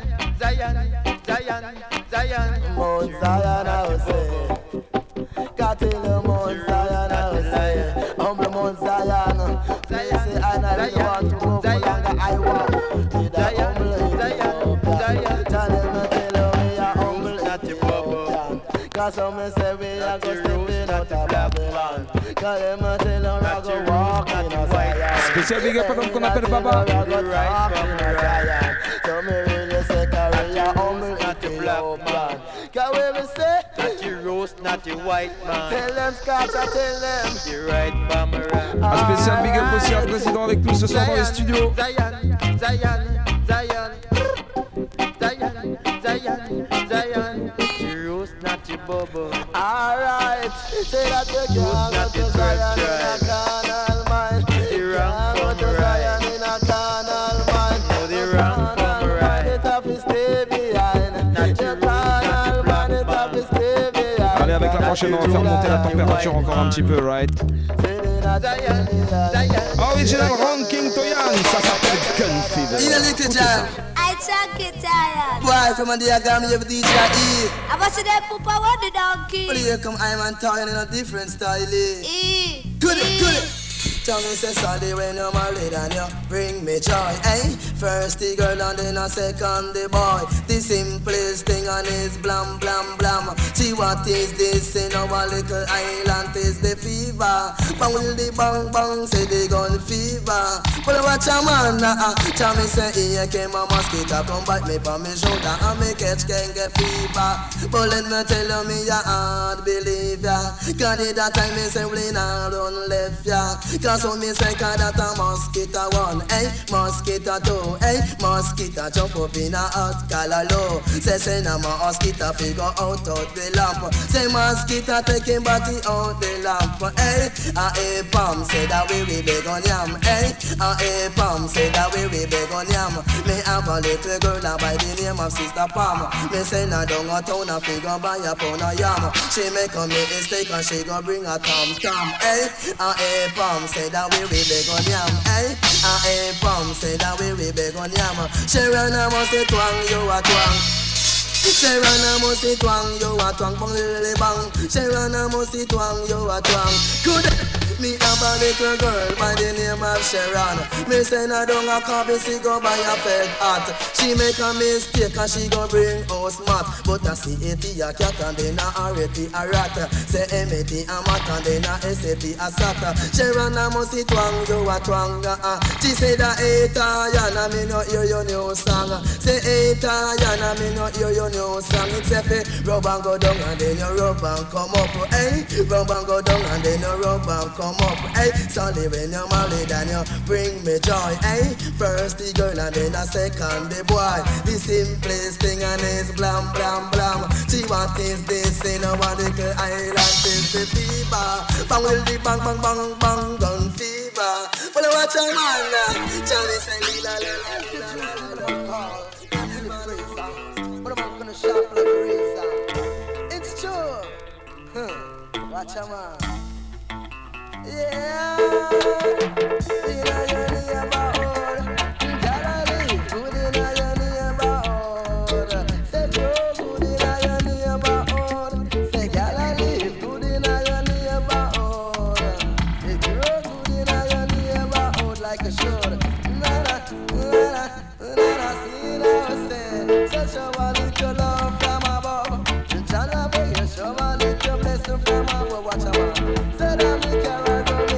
Mount Zion, I will say. Got to the Mount Zion, I will say. Humble Mount Zion. Say I really want to go for longer. I walk. Zion. Tell them cause some say we are go stepping out of Babylon. Cause them a tell them I go walk in a Zion. Spécial big up à l'homme qu'on appelle Baba. So me really say carry your humble not the black man. Cause we will say not your roast, not your white man. Tell them Scotch, I tell them you're right, Bamara. Un spécial big up aussi à un président avec nous ce soir dans les studios. Zion. Not your bubble. Alright, say that you can't go to Zion in a carnal mind. You can't go to Zion in a carnal mind. No, the wrong come right. It have to stay behind. Your carnal man, it have to stay behind. Allez, avec la prochaine, on va faire monter la température encore un petit peu, right? Original Ranking Toyan, ça s'appelle Gun Fever. I check it, tired. Boy, from a diagram, you have DJ E. I was there, Papa, what the donkey? Well, here come I'm and Toyan in a different style. E. Good it. Tell me say sorry when you're married and you bring me joy, eh? First the girl and then a second the boy. The simplest thing on is blam blam blam. See what is this in our little island is the fever. But will the bang bang say the gun fever. But watch a man tell me say here came a mosquito come bite me on me shoulder and me catch can get fever. But let me tell me ya hard believe ya. Cause at that time me say we not run left ya. So me say that a mosquito one, eh? Mosquito two, eh? Mosquito jump up in a hot color low. Say na mosquito figure out the lamp. Say mosquito taking body out the lamp, eh? A palm say that we beg on yam, eh? A palm say that we beg on yam. Me have a little girl by the name of Sister Palm. Me say na down a town a figure buy a pound of yam. She make a mistake and she go bring a tom, eh? A palm say that we beg on yam, eh? A palm say that we beg on yam. She run a must twang, you a twang. She run a must twang, you a twang, bang lily bang. She run a must twang, you a twang. Good. Me have a little girl by the name of Sharon. Me send her down a coffee, she go buy a peg hat. She make a mistake and she go bring house mat. But I see a cat and then a reti a rat. Say M-A-T a mat and then a S-A-T a sat. Sharon a must see twang, you a twang. She say that Yana me no hear your new song. Say Yana me no hear your new song. It's a rub and go down and then you rub and come up. Hey, rub and go down and then you rub and come up. Hey, Sunday when you're married and you bring me joy. Hey, first the girl and then a second the boy. The simplest thing and it's blam blam blam. She want is this in a one little island is the fever. Bang will the bang bang bang bang gun fever. Well I watch a man Johnny say la la la la. But I'm gonna shop like a razor. It's true. Watch a man. Yeah, you know your neighborhood. Galilee, good in your neighborhood. Say Joe, good in your neighborhood. Say Galilee, good in your neighborhood. Say Joe, good in your neighborhood like a should. See now say, such a little love from above. Jana be a show a little blessing from above. Watch out, say that me carry.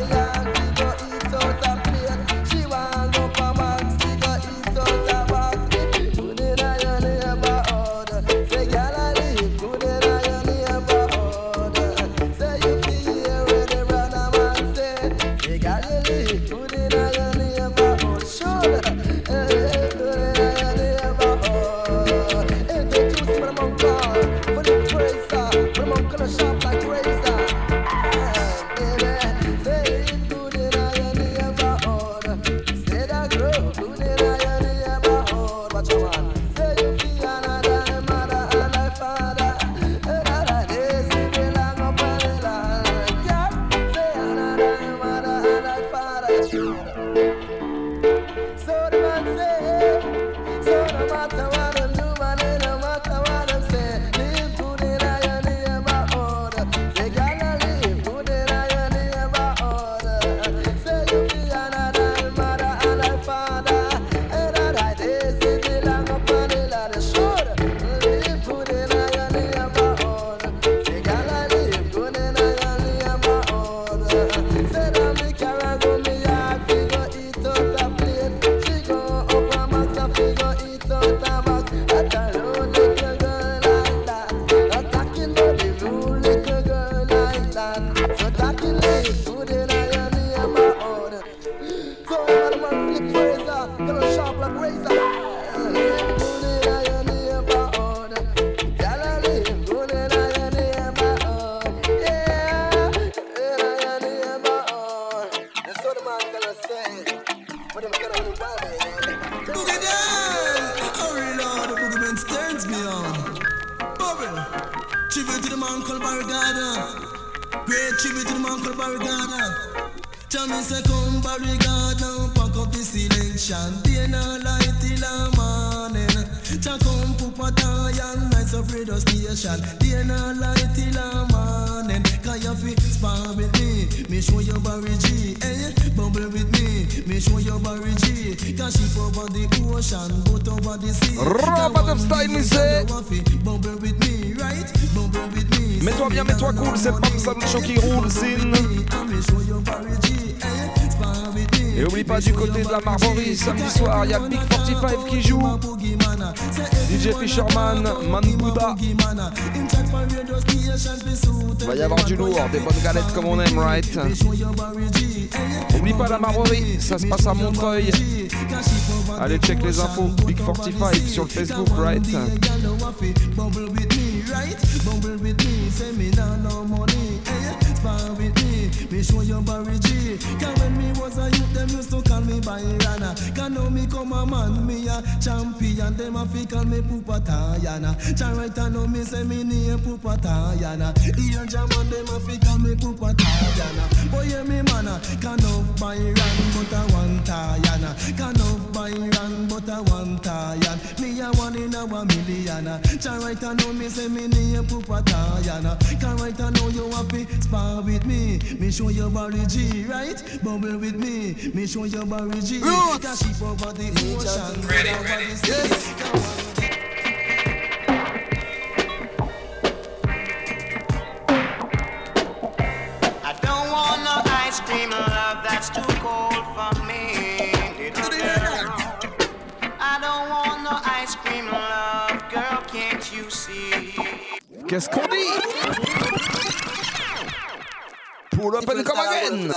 Mets-toi bien, mets-toi cool, c'est Bam Salucho qui roule, Zin. Et oublie pas du côté de la Marborie, samedi soir, il y a Big 45 qui joue. DJ Fisherman, Man Buddha. Il va y avoir du lourd, des bonnes galettes comme on aime, right? Oublie pas la Marborie, ça se passe à Montreuil. Allez check les infos, Big 45 sur le Facebook, right? Bumble with me, say me nah no money. Spar with me show you Barry G. Cause when me was a youth, them used to call me Bayrana. Cause now me come a man, me a champion. Them a fi call me Pupa Tayana. Cause right now me say me name Pupa Tayana. Here German, them a fi call me Pupa Tayana. Boy, yeah me man, can no Bayran, but a one Tayana. Can no Bayran, but a one Tayan. Me a one in a a million. Can right now me say me name Pupa Tayana. Can right now you happy spar with me. Me show you Barry G, right? Bubble with me. Me show you Barry G. Cause she over the ocean. Ready. Yes. I don't want no ice cream love, that's too cold for me, little girl. I don't want no ice cream love, girl, can't you see? Qu'est-ce qu'on dit? Pull up and come again.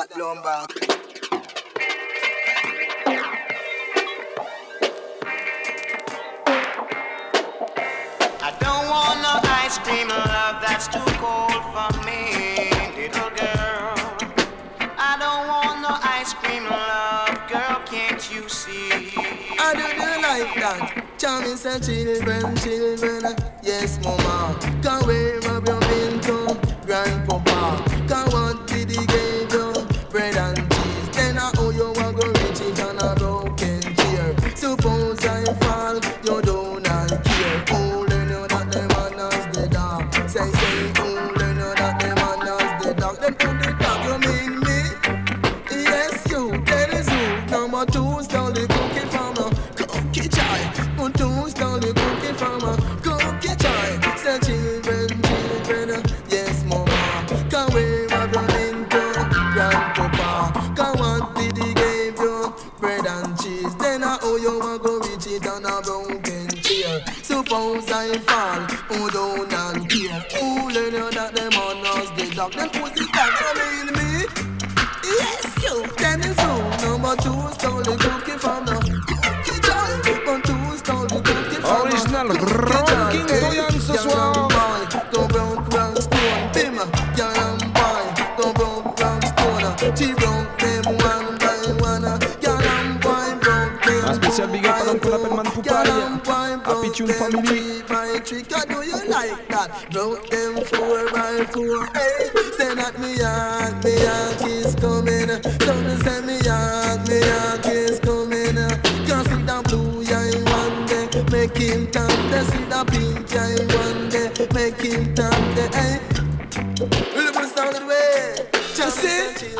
I don't want no ice cream love, that's too cold for me, little girl. I don't want no ice cream love, girl, can't you see? I do like that. Charming say children, yes mama. Can where have you been to, grandpapa? Can what did he give you, bread and cheese? Then I owe you a go rich it on a broken chair. Suppose I fall, you don't care. Oh, learn you that the man has the dog. Say, oh, learn you that the man has the dog. Then put the dog, you mean me? Yes, you, that is you. Number 2, stole the cookie from a cookie chai. 2, stole the cookie from a cookie chai. Say, children, yes, mama. Can where have you been to, grandpapa? Can what did he give you, bread and cheese? Then I owe you a go reach it on a broken chair. Suppose I fall, who don't care? Who learn you that the man was the dog? Then put it back, you mean me? Yes, you, then it's you. Number 2 stole the cookie from the cookie jar. 2 stole the cookie from Original Ranking Doyan ce soir. Don't broke stone, bim, young boy. Don't broke stone, she broke them one by one. Young boy broke them. Un spécial big up à l'homme qu'on appelle Man Poupaille. Happy Tune Family. Do you like that? Broke them 4x4. Hey, say that me yak is coming. So me say me yak is coming. Can't see the blue eye one day, make him turn. They see the pink eye one day, make him turn. Hey, we'll put sound of the way. Just see,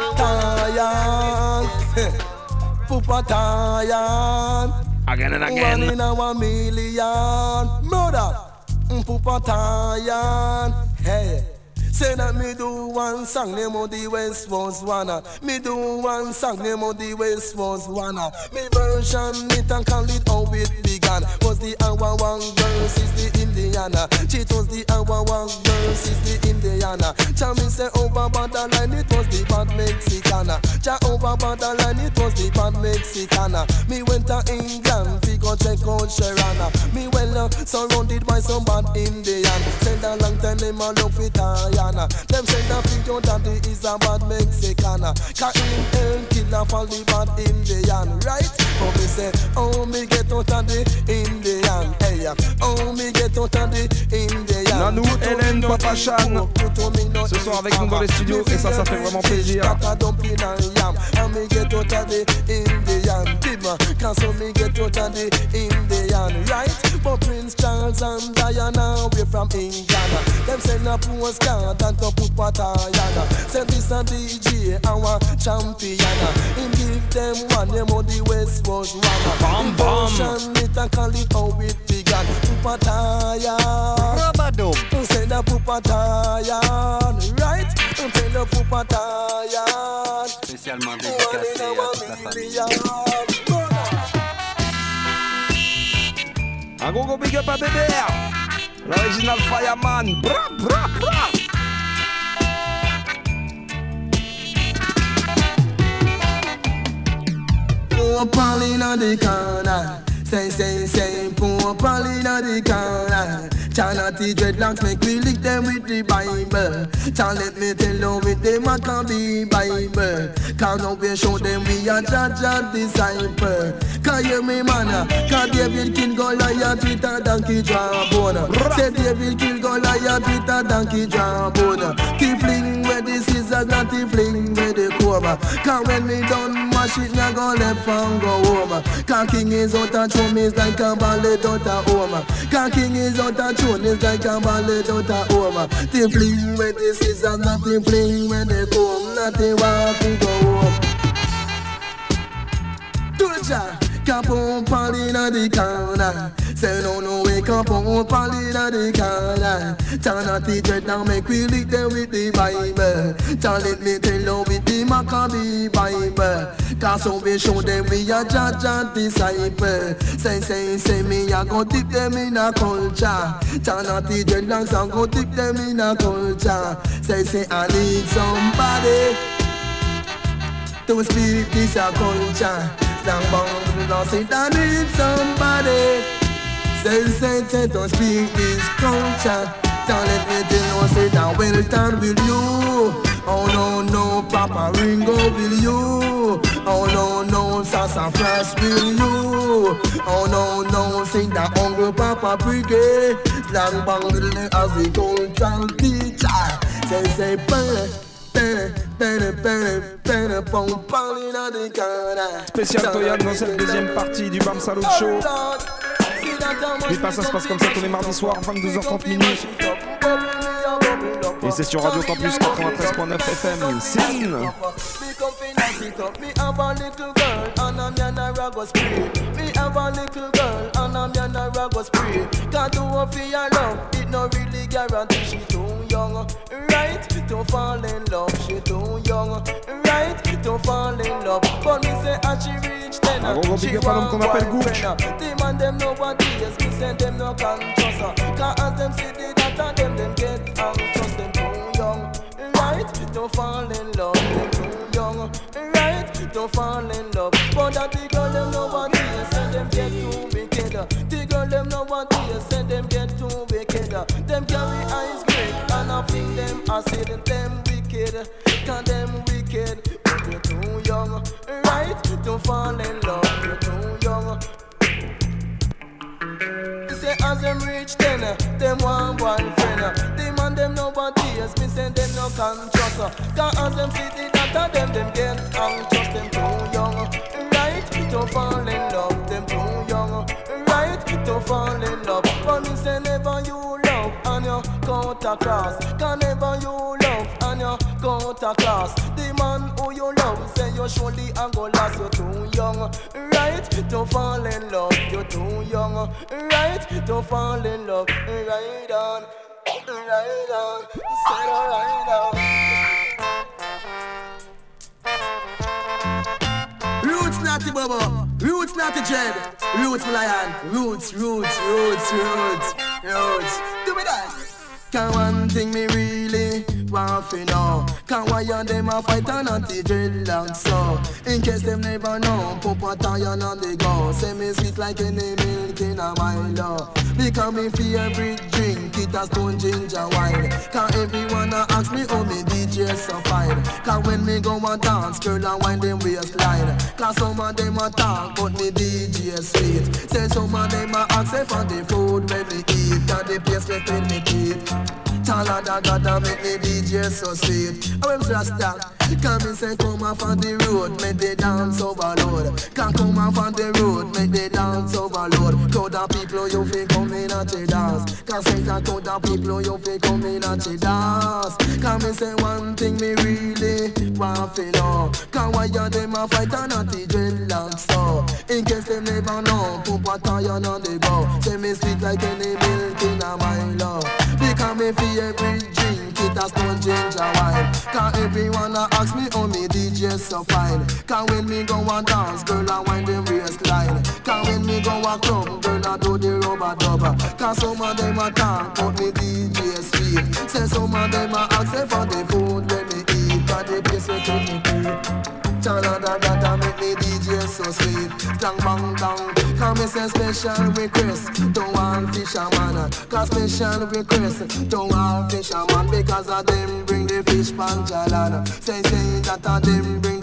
Tayan, Pupa Tayan. Again and again. 1 in a million. Murder. Pupa Tayan. Hey. Say that me do one song, name of the West was wanna. Me do one song, name of the West was wanna. Me version it and call it how it began. Was the hour one versus the Indiana. Cheat was the hour one versus the Indiana. Cha me say over borderline it was the bad Mexicana. Cha over borderline it was the bad Mexicana. Me went to England, we go check out Sharana. Me well surrounded by some bad Indian. Send a long time them a love it them say that your daddy is a bad Mexicana. Cause him and killer for the bad Indian, right? But me say, oh me get out of the Indian. Hey, oh me get out of the Indian. Nanou, Hélène, Papa Chan ce soir avec nous dans les studios et ça fait vraiment plaisir. Me get out of the Indian. Cause me get out of the Indian, right? But Prince Charles and Diana away from England. Them send a postcard and to put Patayana. Send this a DJ, our champion. Him give them one, them on the West was one. Bam bam. It and call it how it began. Pupatayan. Rabadum. Send a Pupatayan, right? Send a Pupatayan. Spécialement dédicacé à toute la famille. Un gros big up à BBR, l'original Fireman. Bra bra bra. Poor Paulina the corner. Say, poor Paulina the corner. Charity dreadlocks make we lick them with the Bible. Child, let me tell you with the Maccabee Bible. Cause now we show them we are Jaja disciple. Cause hear me man, cause David kill Goliath with a donkey jawbone. Say David kill Goliath with a donkey jawbone. He fling where the scissors, not he fling where the core. home. Cause when me done mash it, me go left and go home. Cause king is out of throne, is like a ballet out of home. Cause king is out of throne, is like a ballet out of home. They fling when the scissors, nothing fling when they come, nothing want to go home. Do the job. Cap on party na the corner. Say no wake up on party na the corner. Turn out the dread now make we lick them with the Bible. Tell let me tell you with the Maccabee Bible. Cause so we show them we a judge and disciple. Say me a go tip them in a culture. Turn out the dreadlocks and go tip them in a culture. Say I need somebody to speak this a culture. Slang bang, lost it, I need somebody. Say, don't speak this culture. Don't let me tell you, say that well done will you. Oh no, Papa Ringo will you. Oh no, Sassafras will you. Oh no, sing that Uncle Papa Brigade. Slang bang, as the cultural teacher. Say, Spécial Toyad dans cette deuxième partie du Bam Salut Show. Putain, ça se passe comme ça tous les mardis soirs, 22h30 minuit. Et c'est sur Radio Campus 93.9 FM. Sin. Right, to fall in love, she too young. Right, to fall in love. But me say as she reach ten, she want boyfriend. Them and them nobody else, me say them no can trust her. Cause as them see the data, them get anxious, them too young. Right, to fall in love, them too young. Right, to fall in love. But that the girl them nobody else, say them get too wicked. The girl them nobody else, say them get too wicked. Them carry eyes break and I think them I say them wicked. Cause them wicked. You're too young, right, to fall in love. You're too young. Say as them reach ten, them want boyfriend. Them and them nobody else, me say them no can trust her. Cause as them see the data, them get anxious. Them too young, right, to fall in love. Them too young, right, to fall in love. But me say never you love and you cut across. Cause never you love and you cut across. The man who you love say you surely a go last. You're too young, right, to fall in love. You're too young, right, to fall in love. Right on, right on, say right on. Roots natty bubble, roots natty dread, roots lion, roots. Do me that. Can one thing me really want to know? Can why you them a fight and anti-dreadlocks so? In case them never know, pop a iron on the go. Say me sweet like any milk in a Milo. Because me favorite drink, it a stone ginger wine. Can everyone a ask me how me DJ so fine? Cause when me go a dance, girl and wine them waistline. Cause some of them a talk, but me DJ sweet. Say some of them a ask me for the food when me eat. Cause the place where when me eat. Tala da da make me DJ so sweet. I am just that. Can me say come off on the road, make the dance overload. Can come off on the road, make the dance overload. Crowd of people you feel come in at the dance. Can say that crowd of people you feel come in at the dance. Can me say one thing me really want to know? Can why you them a fight and at the dreadlocks so? In case them never know, put a iron on the go. Say me sweet like any milk in a Milo. Because me favorite drink, it a stone ginger wine. Cause everyone a ask me how me DJ so fine. Cause when me go a dance, girl a wind the waistline. Cause when me go a club, girl a do the rubber dubber. Cause some of them a talk, but me DJ sweet. Say some of them a ask me for the food when me eat. Cause the place where to me eat. Tala da make me DJ so sweet. Dang bang dang. Cause me say special request to one fisherman. Cause special request to one fisherman. Because of them bring the fish pan jalan. Say that of them bring the fish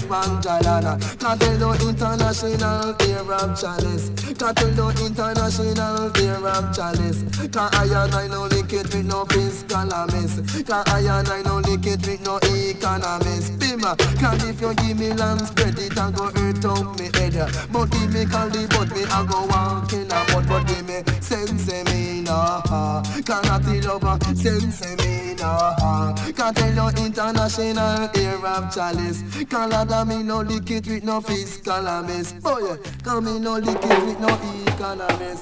Panjalana. Cartel international air of chalice. Cartel international air of chalice. Cause I no lick it with no fiscal miss. Cause I no lick it with no economist. Bima, cause if you give me land spread it and go hurt up me head. But give me candy but me I go walk in a mud. But give me sense me no. Cannot it over sense me no. Cartel international air of chalice. Canada me no lick it with no fiscal miss. Oh yeah, cause me no lick it with no economist.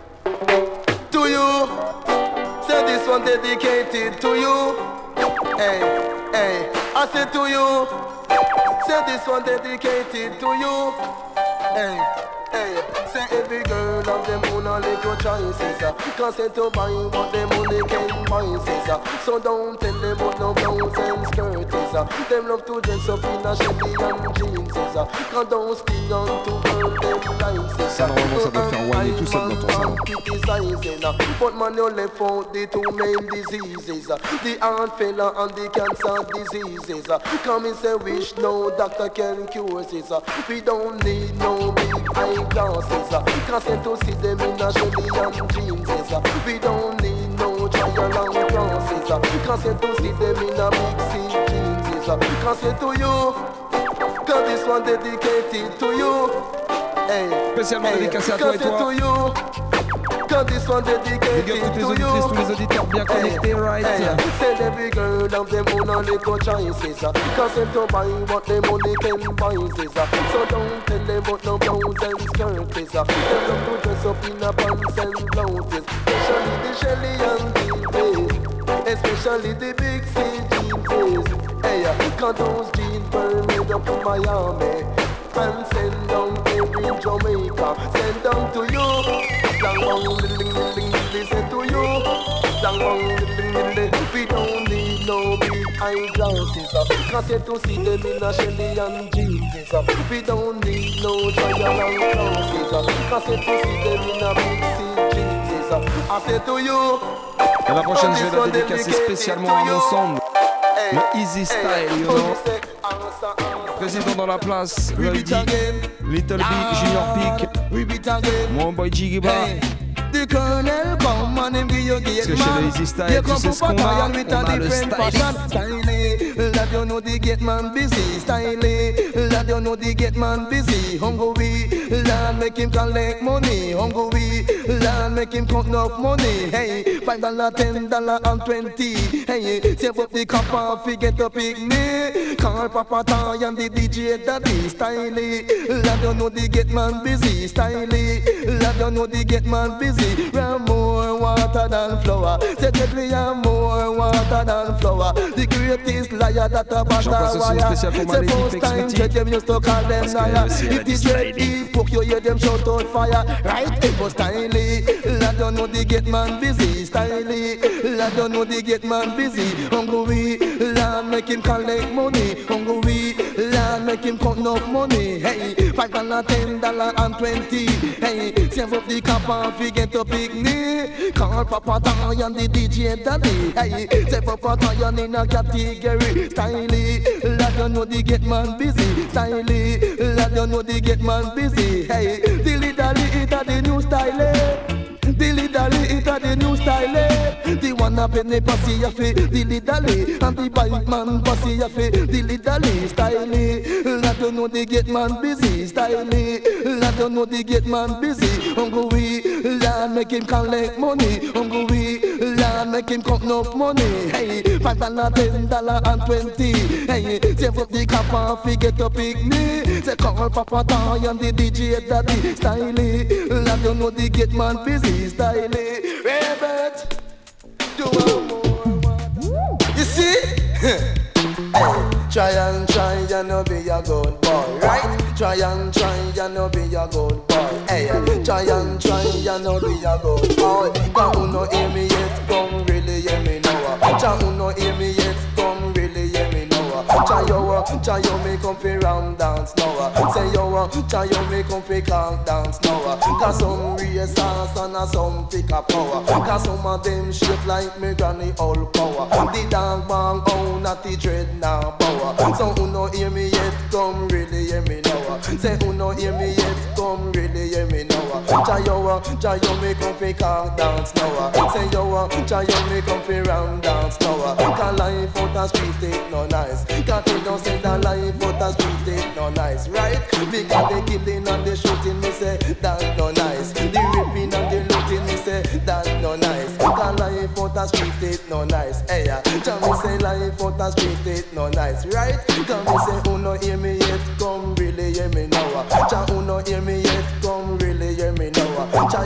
To you, say this one dedicated to you. Hey, hey, I say to you, say this one dedicated to you. Hey, hey, say every girl of them who no lick your choices. Cause say to buy what them only can buy, sis. So don't tell them what no blouse and skirt is. Them love to dress up in a Chevy and jeans. Cause don't sting on to burn them lices. Ça normalement ça doit faire whiner tout seul dans ton salon. But man you left out the two main diseases. The heart failure and the cancer diseases. Come and say wish no doctor can cure this. We don't need no big eyeglasses. Cause to see them in a Chevy and jeans. We don't need no trial and crosses. Cause to see them in a big C jeans. Cause to you, cause this one dedicated to you. Hey, spécialement dédicacé à toi et toi. Cause this one dedicated to you. Toutes les auditrices, tous les auditeurs bien connectés, right? Send every girl of them who no little choices. Cause them to buy what them money can buy. So don't tell them about no blouse and skirts. Them love to dress up in a pants and blouses. Especially the Shelly and the especially the big C jeans. Hey, cause those jeans burn made up in Miami. And send down every Jamaica. Send down to you. Listen to you. We don't need no big eyeglasses. Cause you to see them in a Shelly and jeans. We don't need no trial and crosses. Cause you to see them in a big C jeans. I say to you. Et la prochaine je vais la dédicacer spécialement à mon son. Le Easy Style, you know. Président dans la place, Lady, Little Big, Junior Peak, mon boy Jiggy Bar. The colonel come and him give you gate man. Parce que chez les Easy Style, tu sais ce qu'on a, on a le styling. Lad you know the gate man busy, styling. Lad you know the gate man busy, hungry. Lad make him collect money, hungry. Lad make him count enough money. Hey, $5, $10 and $20. Hey, save up the copper, forget to pick me. Call Papa Ty and the DJ Daddy, styling. Lad you know the gate man busy, styling. Lad you know the gate man busy. We have more water than flour. Say that we have more water than flour. The greatest liar that a butter wire. Say first time that them used to call them liar. If the dread deep book you hear them shout out fire. Right, it was styly. Lad don't know the get man busy. Styly. Lad don't know the get man busy. Hungry. Lad make him collect money. Hungry. Lad make him count enough money. Hey, $5, $10 and $20. Hey, save up the copper forget to pick me. Call Papa Ty and the DJ Daddy. Hey, say Papa Ty in a category. Styly, lad you know the get man busy. Styly, lad you know the get man busy. Hey, dilly dally it a the new style. Dilly dally it a the new style. The one up in the pussy a fi dilly dally, and the bike man pussy a fi dilly dally. Styly, lad you know the get man busy. Styly, lad you know the get man busy. Hungry, lad make him collect money. Hungry, lad make him count enough money. Hey, $5, $10 and $20. Hey, save up the copper, forget to pick me. Say call Papa Ty and the DJ Daddy. Styly, lad you know the get man busy. Styly, Robert, do one more. You see? Try and try and no be a good boy, right? Try and try and no be a good boy. Hey, try and try and no be a good boy. Come no hear me yet, come really hear me now. Try no hear me yet, come really hear me now. Try you me come fi ram dance now. Say try you me come fi can't dance now. Cause some race dance and some pick a power. Cause some of them shape like me granny old power. The dog bang out not the dread now power. So who no hear me yet, come really Say who no hear me yet, come really hear me now. Jayo me come fi can't dance now. Say yo, Jayo me come fi ram dance now. Cause life out the street ain't no nice. Can't you don't say that life out the street ain't no nice, right? Because the killing and the shooting, me say that's no nice. The ripping and the looting, me say that's no nice. Cause life out the street ain't no nice. Hey, Jah me say life out the street ain't no nice, right? Cause me say who no hear me yet, come really hear me now. Jah who no hear me yet, come really hear me now.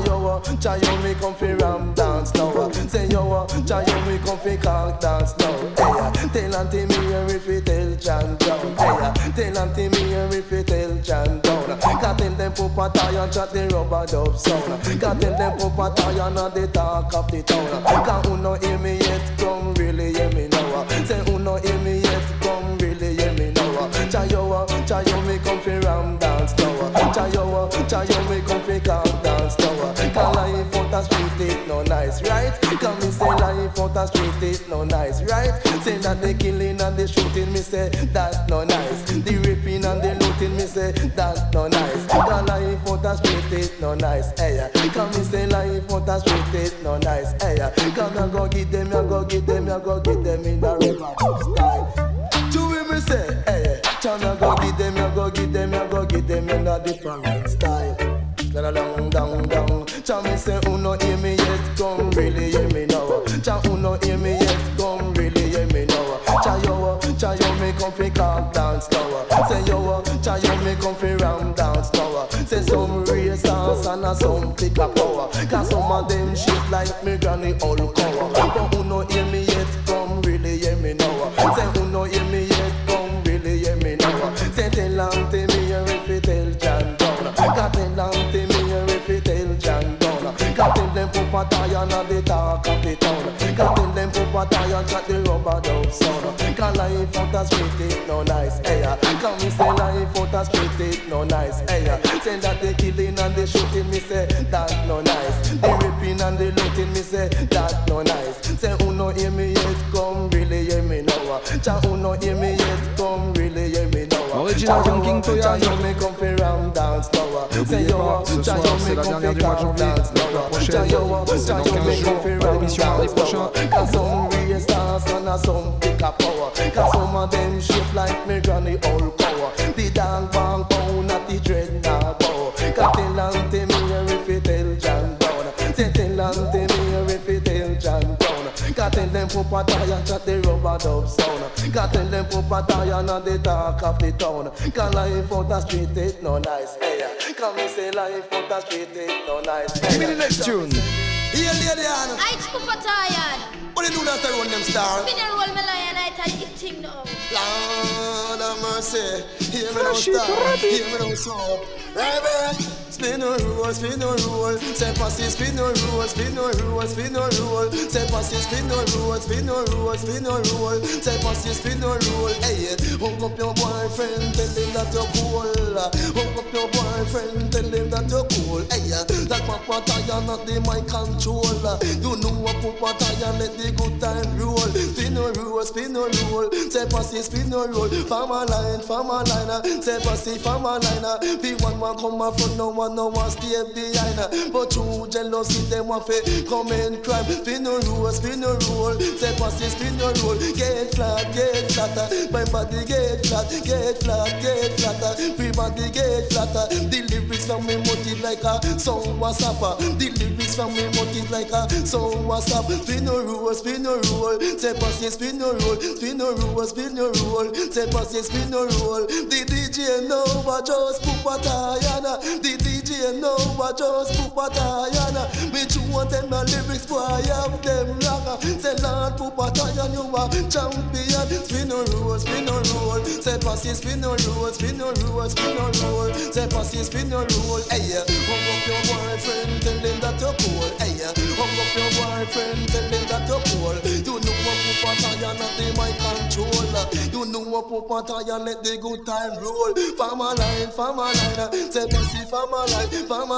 Jayo me come fi ram dance now. Say yo, Jayo me come fi can't dance now. Hey, tell Auntie me if you tell John down. Hey, tell Auntie me if you tell John down. Can't tell them Papa tie and chat the rubber dub sound. Can't tell them Papa tie and the talk of the town. Can't who no hear me yet, come really hear me now. Say who no hear me yet, come really hear me now. Jayo me come fi ram dance now. Jayo me come fi can't dance now. Cause life out the street ain't no nice, right? Cause me say life out the street ain't no nice, right? Say that the killing and the shooting, me say that's no nice. The ripping and the looting, me say that's no nice. Cause life out the street ain't no nice, hey. Cause me say life out the street ain't no nice, hey. Cause I go get them, I go get them, I go get them in the river style. To me say, hey, China go get them, I go get them, I go get them in a different style. Down, down, down. Cha me say who no hear me yet, come really hear me now. Cha who no hear me yet, come really hear me now. Chayo me come fi can't dance now. Say yo, Chayo me come fi ram dance now. Say some race dance and some pick up power. Cause some of them shit like me granny all cover. But who no hear me yet, come really hear me now. Say who no hear me yet, come really hear me now. Say tell Auntie me if you tell John down. Cause tell Auntie me if you tell John down. Cause tell them Papa tie and the talk of the town. Cause tell them Papa tie and chat the rubber dub sound. Cause life out the street ain't no nice, hey. Cause me say life out the street ain't no nice, hey. Say that the killing and the shooting, me say that's no nice. The ripping and the looting, me say that's no nice. Say who no hear me yet, come really hear me now. Cha who no hear me yet, come really hear me now. Original from King Toya. Me come fi ram dance now. N'oubliez pas, ce soir c'est la dernière du mois de janvier. Donc la prochaine, c'est dans 15 jours, pour l'émission mardi prochain. Cause some of them shape like me granny old power. The dog bang pound at the dread now bow. Cause tell Auntie me if you tell John down. Say tell Auntie me if you tell John down. Cause tell them Papa tie and chat the rubber dub sound. Cause tell them Papa tie and the talk of the town. Cause life out the street ain't no nice, hey. Cause me say life out the street ain't no nice, hey. Give me the next tune. Here, lady Anna. I super tired. What do you do that's to run them stars? Me no roll me lion, I tell you thing now. Lord have mercy. Hear me now star, hear me now soul. Right, spin a roll, spin a roll. Say pass it, spin a roll, spin a roll, spin a roll. Say pass it, spin a roll, spin a roll, spin a roll. Say pass it, spin a roll. Hey, hook up your boyfriend, tell him that you're cool. Hook up your boyfriend, tell him that you're cool. Hey, that Papa Tire not the my control. You know what Papa Tire let the good time roll. Spin a roll, spin a roll. Say pass it, spin a roll. Farmer line, say pass it, farmer line. Be one man come up front, no one stay behind. But through jealousy, them want to come and crime. Spin a roll, say pass it, spin a roll. Get flat, my body get flat, get flat. Free body get flat. The lyrics from me motive like a song was up. The lyrics from me motive like a song was up. Spin a roll, say pass it, spin a roll. Spin a roll, say pass it, spin a roll. The DJ know what just Papa Tayana. The DJ know what just Papa Tayana. Me too want them the lyrics, boy, I have them wrong. Say Lord Papa Tayana, you are champion. Spin a roll, say pass it, spin a roll. Say pass it, spin a roll. Hey, hung up your boyfriend, tell him that you're cool. Hey, hung up your boyfriend, tell him that you're cool. You know what Papa Tayana, they my control. You know what Papa Tayana, let the good time roll. Farmer line, say pass it, farmer line.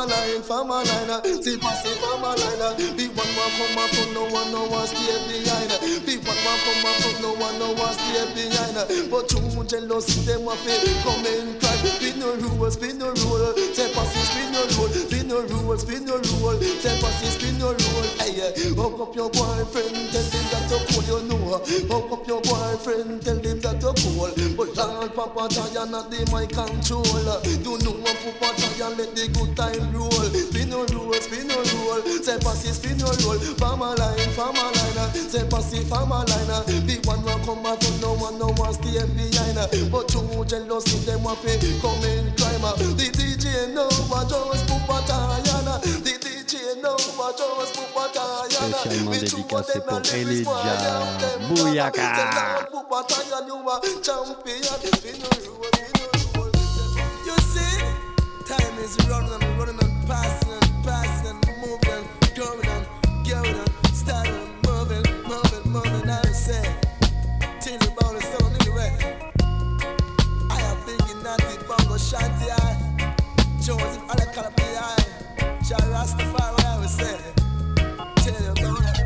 Say pass it, farmer line. Be one more come up, no one stay behind. Be one more come up, no one stay behind. But you jealousy, them want to come in and cry. Spin no roll, spin no roll. Say passy, spin no roll, spin no roll, spin no roll. Say passy, spin no roll. Hey, hook up your boyfriend, tell him that to cool, you know. Hook up your boyfriend, tell him that to cool. But Lord Papa Giant not the my control. You know what Papa Giant let the good time roll. Spin no roll, spin no roll. Say passy, spin no roll. Farmer line, say passy, farmer line. The one will come out from no one stay behind. But too jealousy, them want to come in crime. The DJ know what just Papa Giant. The DJ know what just Papa Giant. Spécialement dédicacé pour Elijah Bouyaka. You see, time is running and passing and moving, going and starting moving. I say, till the ball is down anyway. I am thinking that the bongo shanty eye, Joseph Alakalapi eye, Rastafari, I would say. Tell you about it.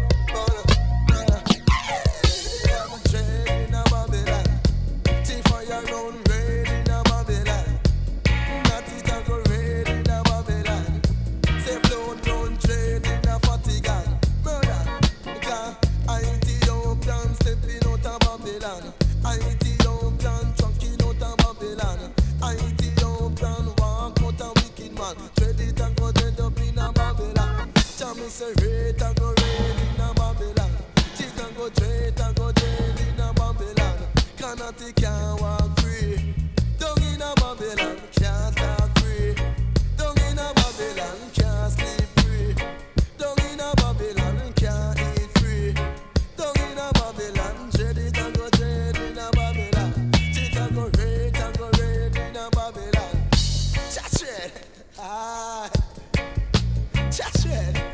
Say rate and go raid in a Babylon. She can go trade and go trade in a Babylon. Cannot can't walk free. Down in a Babylon, can't talk free. Down in a Babylon, can't sleep free. Down in a Babylon, can't eat free. Down in a Babylon, trade it and go trade in a Babylon. She can go raid and go raid in a Babylon. Cha-trade, aye. Cha-trade.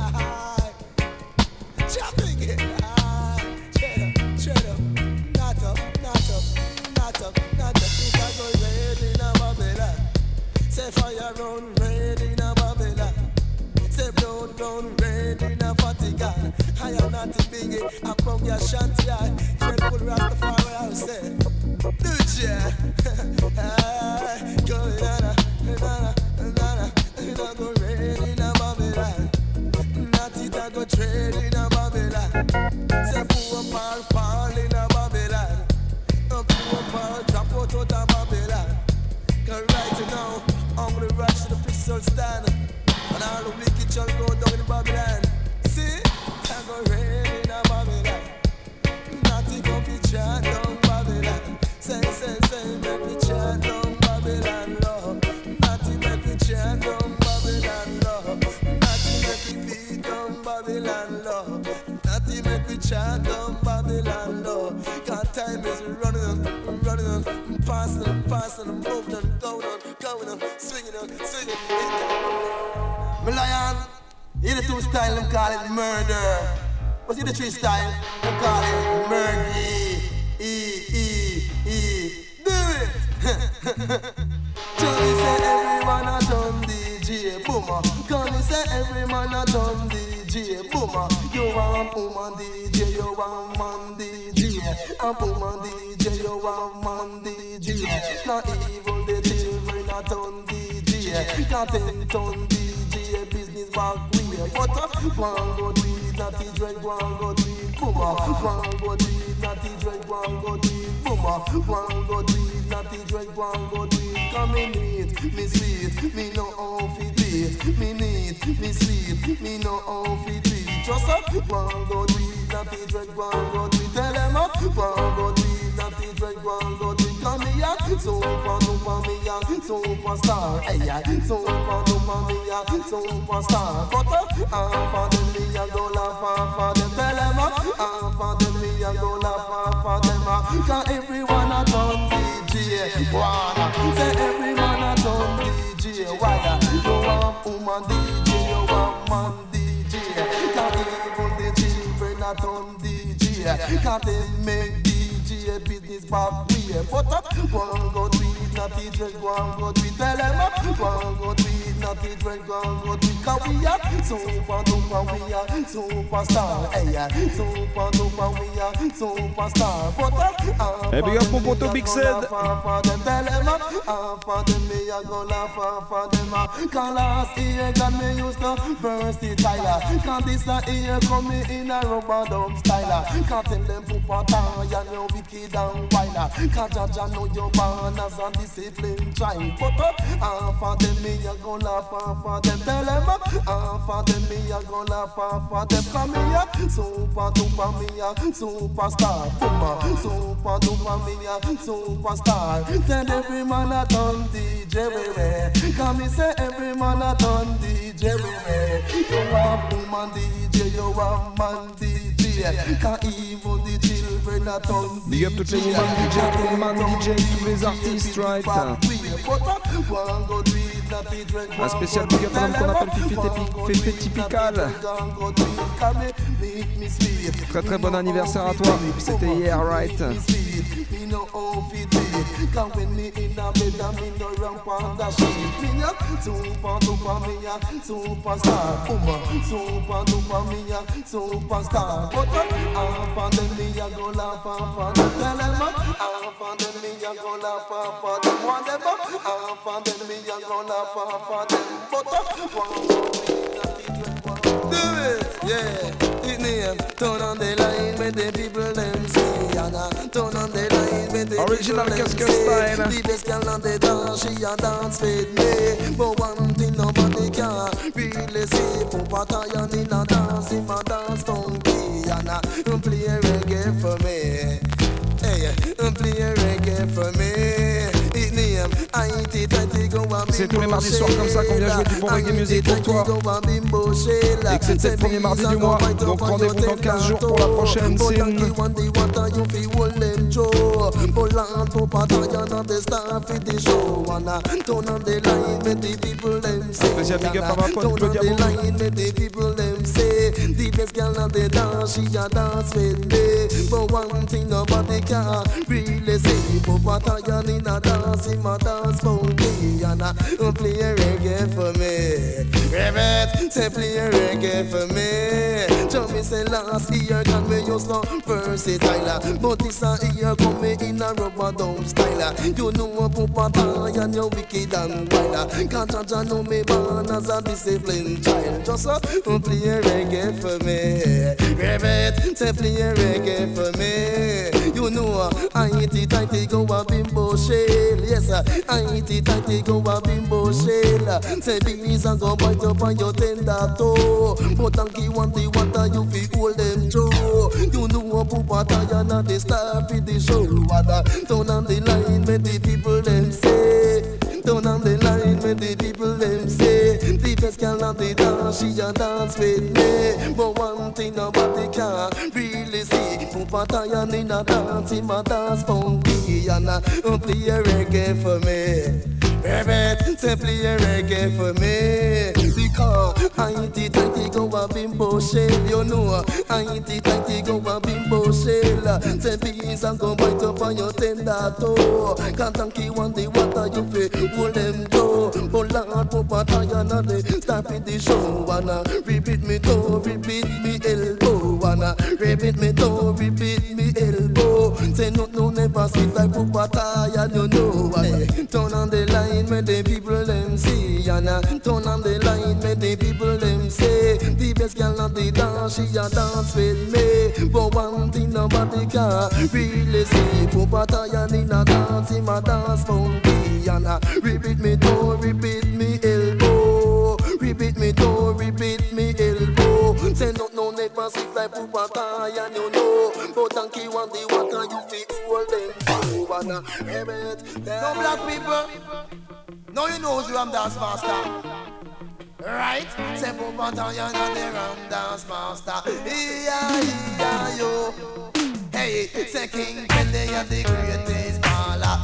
Chopping it, cheddar, not up. If I go red in a Babylon, say fire run red in a Babylon, say blood run red in a Vatican. I am not a biggie, I'm from your shanty eye. Dreadful Rastafari, I say, Lucia, go nana, go red in a Babylon. I go trade in a Babylon. Say poor Paul fall in a Babylon. Poor Paul drop out of Babylon. Cause right now, I'm gonna rush to the pistol stand. And all the wicked shall go down in Babylon. See? I go raid in a Babylon. Nothing gonna be chat down Babylon. Say, make me chat down Babylon, Lord. Nothing make me chat down Babylon, Lord. Babylon law, nothing make me chant on Babylon law. God time is running on, passing on, moving on, going on, swinging on. My lion, in the two style, them call it murder. What's in the three style? Them call it murder. Do it. Johnny said every man a done DJ Boomer. Johnny said every man a done DJ Boomer. You want woman DJ, you want man DJ. A woman DJ, you want man DJ. Not even the children a done DJ. Got 10 ton DJ business back way. But one go do it, not the dread, one go do it Boomer. One go do it, not the dread, one go do it Boomer. One go do it, not the dread, one go do it. Come in it, me sweet, me no off it beat. Me need, me sweet, me no off it beat. Trust up, one go do it, not the dread, one go do it. Tell them up, one go do it, not the dread, one go do it. Come here, superstar, hey, superstar. But for them me a go laugh for them. Tell them up, for them me a go laugh for them. Cause everyone a done DJ, wanna say everyone a done DJ. Why you want woman DJ, you want man DJ. Cause even the children a done DJ. Cause they make DJ business back way. But one go do it, not the naughty dress, go and go tweet. Tell them, go and go tweet, naughty dress, go and go tweet. Cause we are super duper, we are superstar. Hey, yeah, super duper, we are superstar. But hey, big up mon poteau Big Said. For them, tell them, for them, me a go laugh for them. Cause last year, God me used to burst the Tyler. Cause this year come me in a rubber dump styler. Cause tell them Papa Taya, you wicked and wilder. Cause Jaja know you born as a disciplined child. But for them me a go laugh for them. Tell them for them me a go laugh for them. Come here, super duper me a superstar. Super duper me a superstar. Tell every man a turn DJ we. Come me say every man a turn DJ we. You have woman DJ, you have man DJ. Can't even the children a turn DJ. Big up toutes les women DJ, tous les man DJ, tous les artistes, right? Un spécial big up à l'homme qu'on appelle Fifi Typical. Très très bon anniversaire à toi, c'était hier, right? Turn on the line with the people them see, and turn on the line with the original people style. The best girl on the dance, she a dance with me. But one thing nobody can really see, Papa Taya in a dance, him a dance funky, and play reggae for me. Hey, play reggae for me. C'est tous les mardis soirs comme ça qu'on vient jouer du bon reggae music pour toi. Et que c'est le premier mardi du mois. Donc rendez-vous dans 15 jours pour la prochaine scène. Spécial big up à ma pote Claudia Boum. The best girl on the dance, she a dance with me. But one thing nobody can really say, Papa Taya in a dance, him a dance funky, and play reggae for me. Rabbit, say play reggae for me. Tell me say last year can me use no versatile, but this year come me in a rubber dump style. You know Papa Taya, you wicked and wild. Can't Jaja know me born as a disciplined child. Just play reggae for me. Rabbit, say play reggae for me. You know I eat it tighty go a bimbo shell. Yes, I eat it tighty go a bimbo shell. Say bees and go bite up on your tender toe. But donkey want the water you fi hold them through. You know Papa Taya na the star fi the show. Turn on the line with the people them say. Turn on the line with the people them say. The best girl on the dance, she a dance with me. But one thing nobody can really see, Papa Taya in a dance, him a dance funky, and play a reggae for me. Rabbit, say play a reggae for me. Because I eat it like go a bimbo shell. You know I eat it like go a bimbo shell. Say bees and go bite up on your tender toe. Can't donkey want the water you fi hold them toe. But Lord Papa Taya na the start with the show. Wanna repeat me toe, repeat me elbow. Wanna repeat me toe, repeat me elbow. Say no never sleep like Papa Taya, you know. Turn on the line with the people them see, and turn on the line with the people them say. The best girl on the dance, she a dance with me. But one thing nobody can really see, Papa Taya in a dance, him a dance funky, and repeat me toe, repeat me elbow, repeat me toe, repeat me elbow. Say no never sleep like Papa Taya, you know. But donkey want the water, you feel hold them too, and no black people. Now you know who's the Ram Dance Master. Right? Say Papa Taya and the Ram Dance Master. Yeah, yo. Hey, say King Kenny and the greatest baller.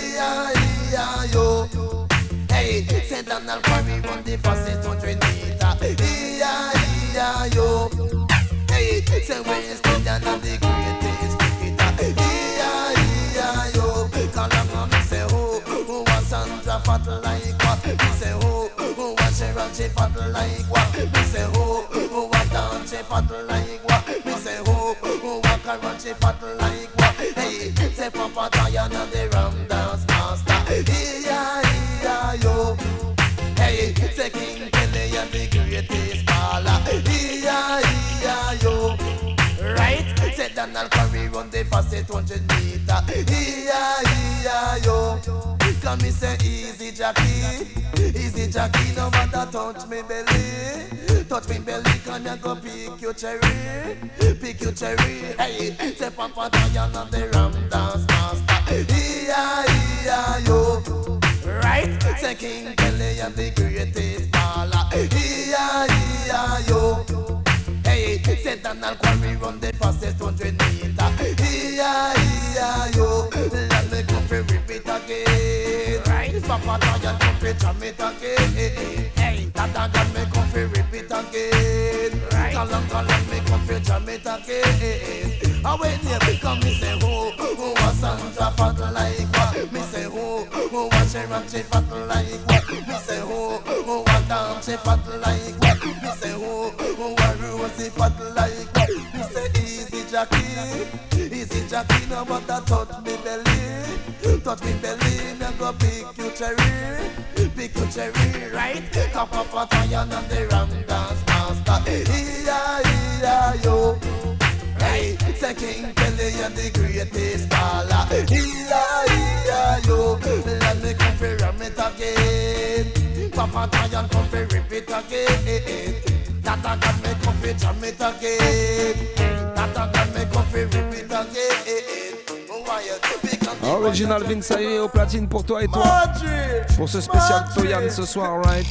Yeah, yo. Hey, say Donald Curry run the fastest 100 meter. Yeah, yo. Hey, say West Indian and the greatest cricketer. Yeah, yo. Call him and say who was Sandra fat like what? Me say who watch her and she fat like what? Me say who walk down she fat like what? Me say who walk around she fat like what? Hey, say Papa Diana the Ram Dance Master. Yeah, yo. Hey, say King Kelly and the greatest baller. Yeah, yo. Right? Say Donald Curry run the fastest 100 meter. Yeah, yo. Come me say easy Jackie, no matter touch me belly, can you go pick your cherry, hey, say Papa Diana the Ram Dance Master, yeah, yo, right, say King Kelly and the greatest baller, yeah, yo, hey, say Donald Quarry run the fastest 100 meter, yeah, yo, let me go for repeat again, right, Papa Diana come for jam it again, hey, Tata got me come for repeat again, right, Kalang me come for jam it again, I wait here because me say who was Sandra fat like what, me say who was Sharon she fat like what, me say who was Dan she fat like what, me say who was Rosie fat like what, me say easy Jackie, no matter touch me belly, me go pick you cherry, right? Come up for Diana and the Ram Dance Master, yeah, yo. Hey, say King Kelly and the greatest baller, yeah, yo. Let me come for ram it again. Papa Diana come for rip it again. Tata got me come for jam it again. Tata got me come for rip it again. Original Vince Ayre au platine pour toi et toi. Pour ce spécial Toyan ce soir, right?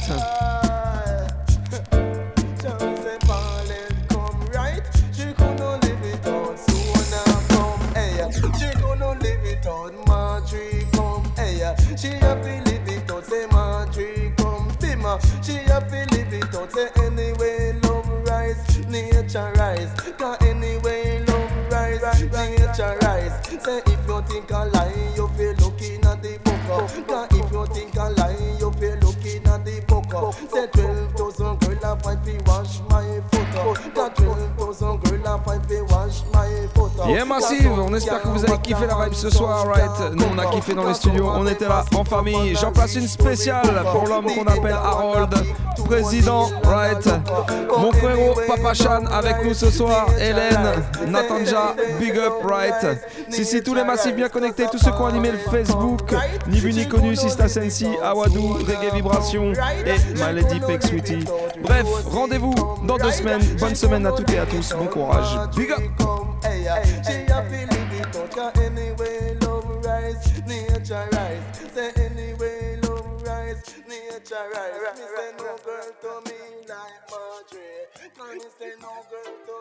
She have to live it out, say Marjorie come bimmer. She have to live it out, say anyway love rise, nature rise. Cause anyway love rise, nature rise. Say if you think I lie, you feel looking at the book. Cause if you think I lie, you feel looking at the book. Say 12,000 girl I fight fi wash my foot. Cause 12,000 girl I fight fi wash my foot. Yeah, Massive, on espère que vous avez kiffé la vibe ce soir, right? Nous on a kiffé dans les studios, on était là en famille. J'en place une spéciale pour l'homme qu'on appelle Harold, président, right? Mon frérot Papa Chan avec nous ce soir, Hélène, Natanja, big up, right? Si, tous les massifs bien connectés, tous ceux qui ont animé le Facebook, ni vu ni connu, Sista Sensi, Awadou, Reggae Vibration et My Lady Peck Sweetie. Bref, rendez-vous dans 2 semaines. Bonne semaine à toutes et à tous, bon courage, big up! She a feel it out, anyway love rise, nature rise. Say anyway love rise, nature rise. Me say no girl to me like Marjorie. Can you say no girl to